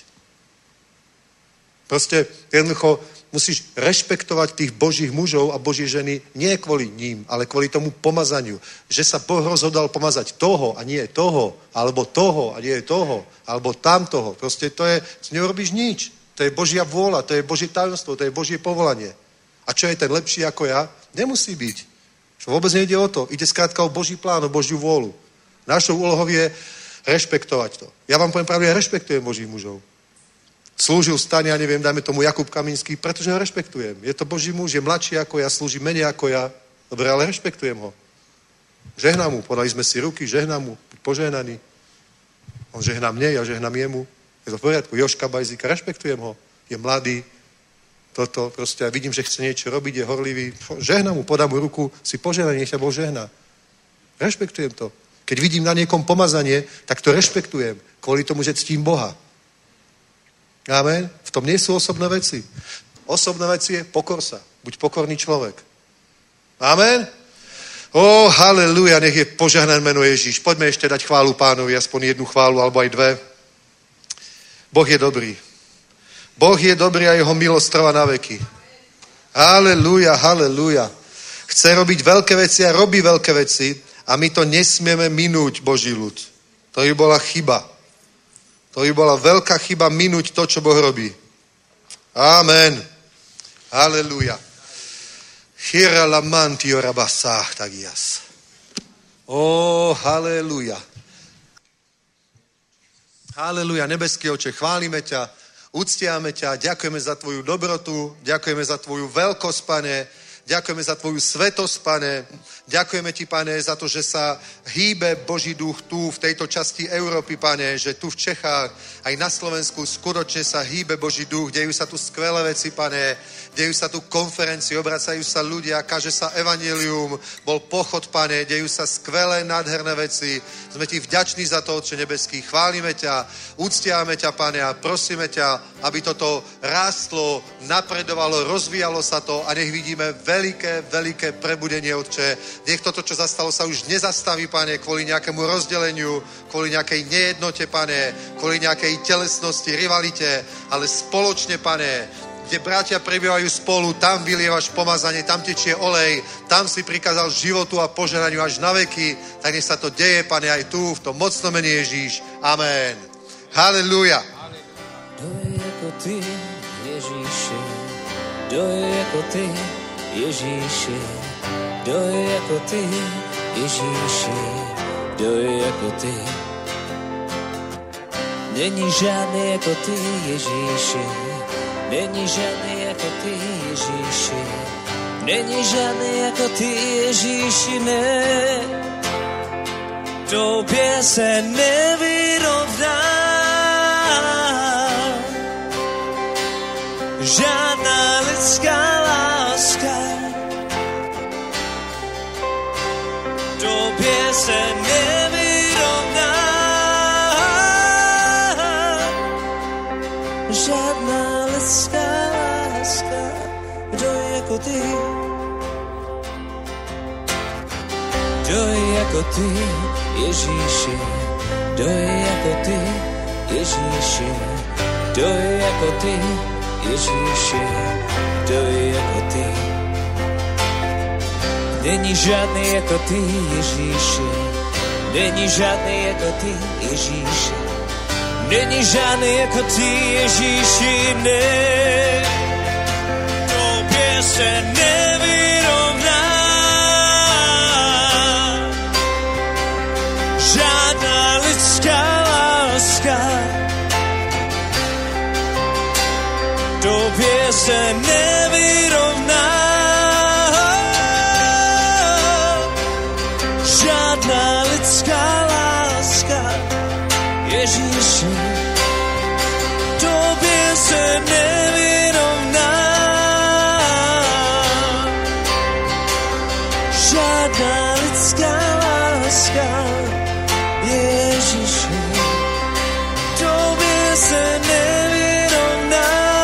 Proste jednoducho musíš rešpektovať tých Božích mužov a Boží ženy nie kvôli ním, ale kvôli tomu pomazaniu. Že sa Boh rozhodol pomazať toho a nie toho, alebo toho a nie toho, alebo tamtoho. Proste to je, neurobíš nič. To je Božia vôľa, to je Božie tajomstvo, to je Božie povolanie. A čo je ten lepší ako ja? Nemusí byť. Čo vôbec nejde o to. Ide skrátka o Boží plán, o Božiu vôľu. Našou úlohou je rešpektovať to. Ja vám poviem pravdu, ja rešpektujem Božích mužov. Slúžil v stane, ja neviem, dajme tomu Jakub Kaminský, pretože ho rešpektujem. Je to Boží muž, je mladší ako ja, slúži menej ako ja. Dobre, ale rešpektujem ho. Žehnám mu, podali sme si ruky, žehnám mu, požehnaný. On žehná mne, ja žehnám jemu. Je to v poriadku. Joška Bajzíka, rešpektujem ho. Je mladý, toto proste, ja vidím, že chce niečo robiť, je horlivý. Žehnám mu, podám mu ruku, si požehnaný, nech ťa Boh žehná. Rešpektujem to. Keď vidím na niekom pomazanie, tak to rešpektujem. Kvôli tomu, že ctím Boha. Amen. V tom nie sú osobné veci. Osobné veci je pokor sa. Buď pokorný človek. Amen. Ó, haleluja, nech je požehnané meno Ježíš. Poďme ešte dať chválu Pánovi, aspoň jednu chválu, alebo aj dve. Boh je dobrý. Boh je dobrý a jeho milosť trvá na veky. Haleluja, haleluja. Chce robiť veľké veci a robí veľké veci. A my to nesmieme minúť, Boží ľud. To by bola chyba. To by bola veľká chyba minúť to, čo Boh robí. Amen. Halelúja. Chira lamantio rabasách tagias. Ó, halelúja. Halelúja, nebeský Oče, chválime ťa, uctiame ťa, ďakujeme za tvoju dobrotu, ďakujeme za tvoju veľkosť, Pane, ďakujeme za tvoju svetosť, Pane, ďakujeme ti, Pane, za to, že sa hýbe Boží duch tu, v tejto časti Európy, Pane, že tu v Čechách, aj na Slovensku skutočne sa hýbe Boží duch, dejú sa tu skvelé veci, Pane, dejú sa tu konferencie, obracajú sa ľudia, káže sa evanjelium, bol pochod, Pane, dejú sa skvelé, nádherné veci. Sme ti vďační za to, Otče nebeský. Chválime ťa, úctiame ťa, Pane, a prosíme ťa, aby toto rástlo, napredovalo, rozvíjalo sa to a nech vidíme veľké, veľké prebudenie, Otče. Nech toto, čo zastalo, sa už nezastaví, Pane, kvôli nejakému rozdeleniu, kvôli nejakej nejednote, Pane, kvôli nejakej telesnosti, rivalite, ale spoločne, Pane, kde bratia prebývajú spolu, tam vylievaš pomazanie, tam tečie olej, tam si prikázal životu a požehnaniu až na veky, tak nech sa to deje, Pane, aj tu, v tom mocnom mene Ježíš. Amen. Halelúja. Kdo je jako ty, Ježíši? Kdo je jako ty, Ježíši? Kdo je jako ty, Ježíši? Kdo je jako ty? Není žádný jako ty, Ježíši. Není žádný jako ty, Ježíši. Není žádný jako ty, Ježíši, ne. Tobě se nevyrovná žádná lidská láska. Tobě se nevyrovná žádná lidská láska. Kdo je jako ty? Kdo je jako ty, Ježíši? Kdo je jako ty, Ježíši? Kdo je jako ty, Ježíši? Kdo je jako ty? Není žádný jako ty, Ježíši. Není žádný jako ty, Ježíši. Není žádný jako ty, Ježíši, ne. Tobě se nevyrovná žádná lidská láska. Tobě se nevyrovná žádná lidská láska. Ježíši, tobě se nevyrovná žádná lidská láska. Ježíši, tobě se nevyrovná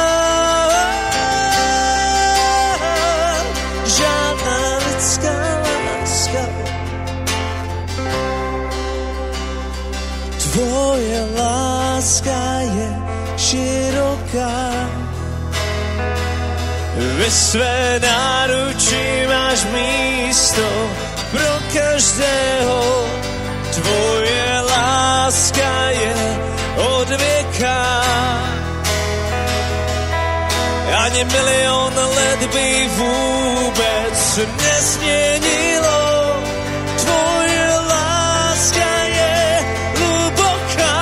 žádná lidská láska. Tvoje láska je široká, ve své náručí máš místo pro každého. Tvoje láska je od věka, ani milion let by vůbec nezměnilo. Tvoje láska je hluboká,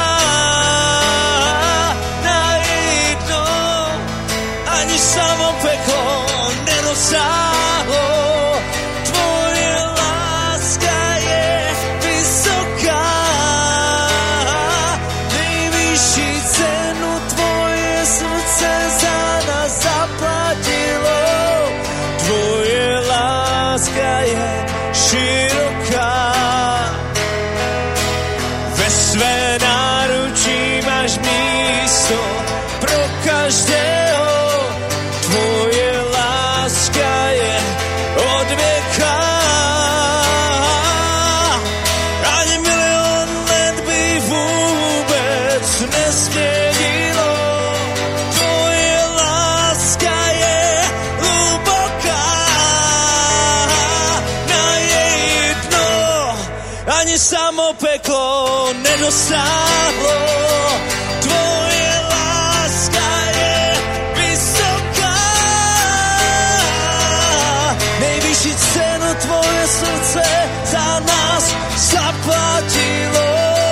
na její dno ani samo peklo nedosáhlo. Tvoje láska je vysoká, nejvyšší cenu tvoje srdce za nás zaplatilo. Tvoje láska je široká, ve své náručí máš místo pro každého. Tvoje láska je od věka, ani milion let by vůbec nezměnilo. Tvoje láska je hluboká, na její dno dosáhlo. Tvoje láska je vysoká, nejvyšší cenu tvoje srdce za nás zaplatilo.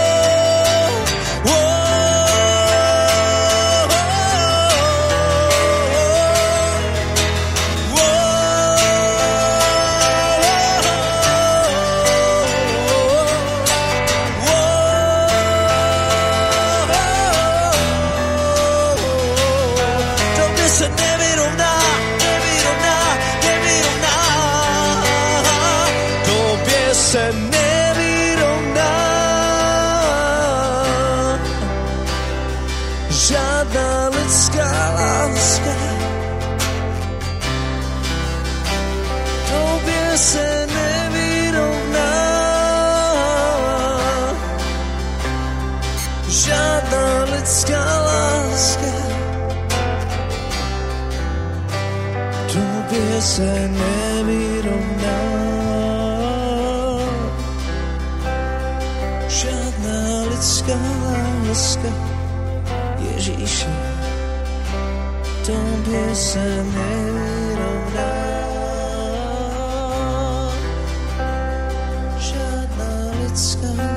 se nevyrovná. Žádná lidská láska, Ježíši, tobě se nevyrovná. Žádná lidská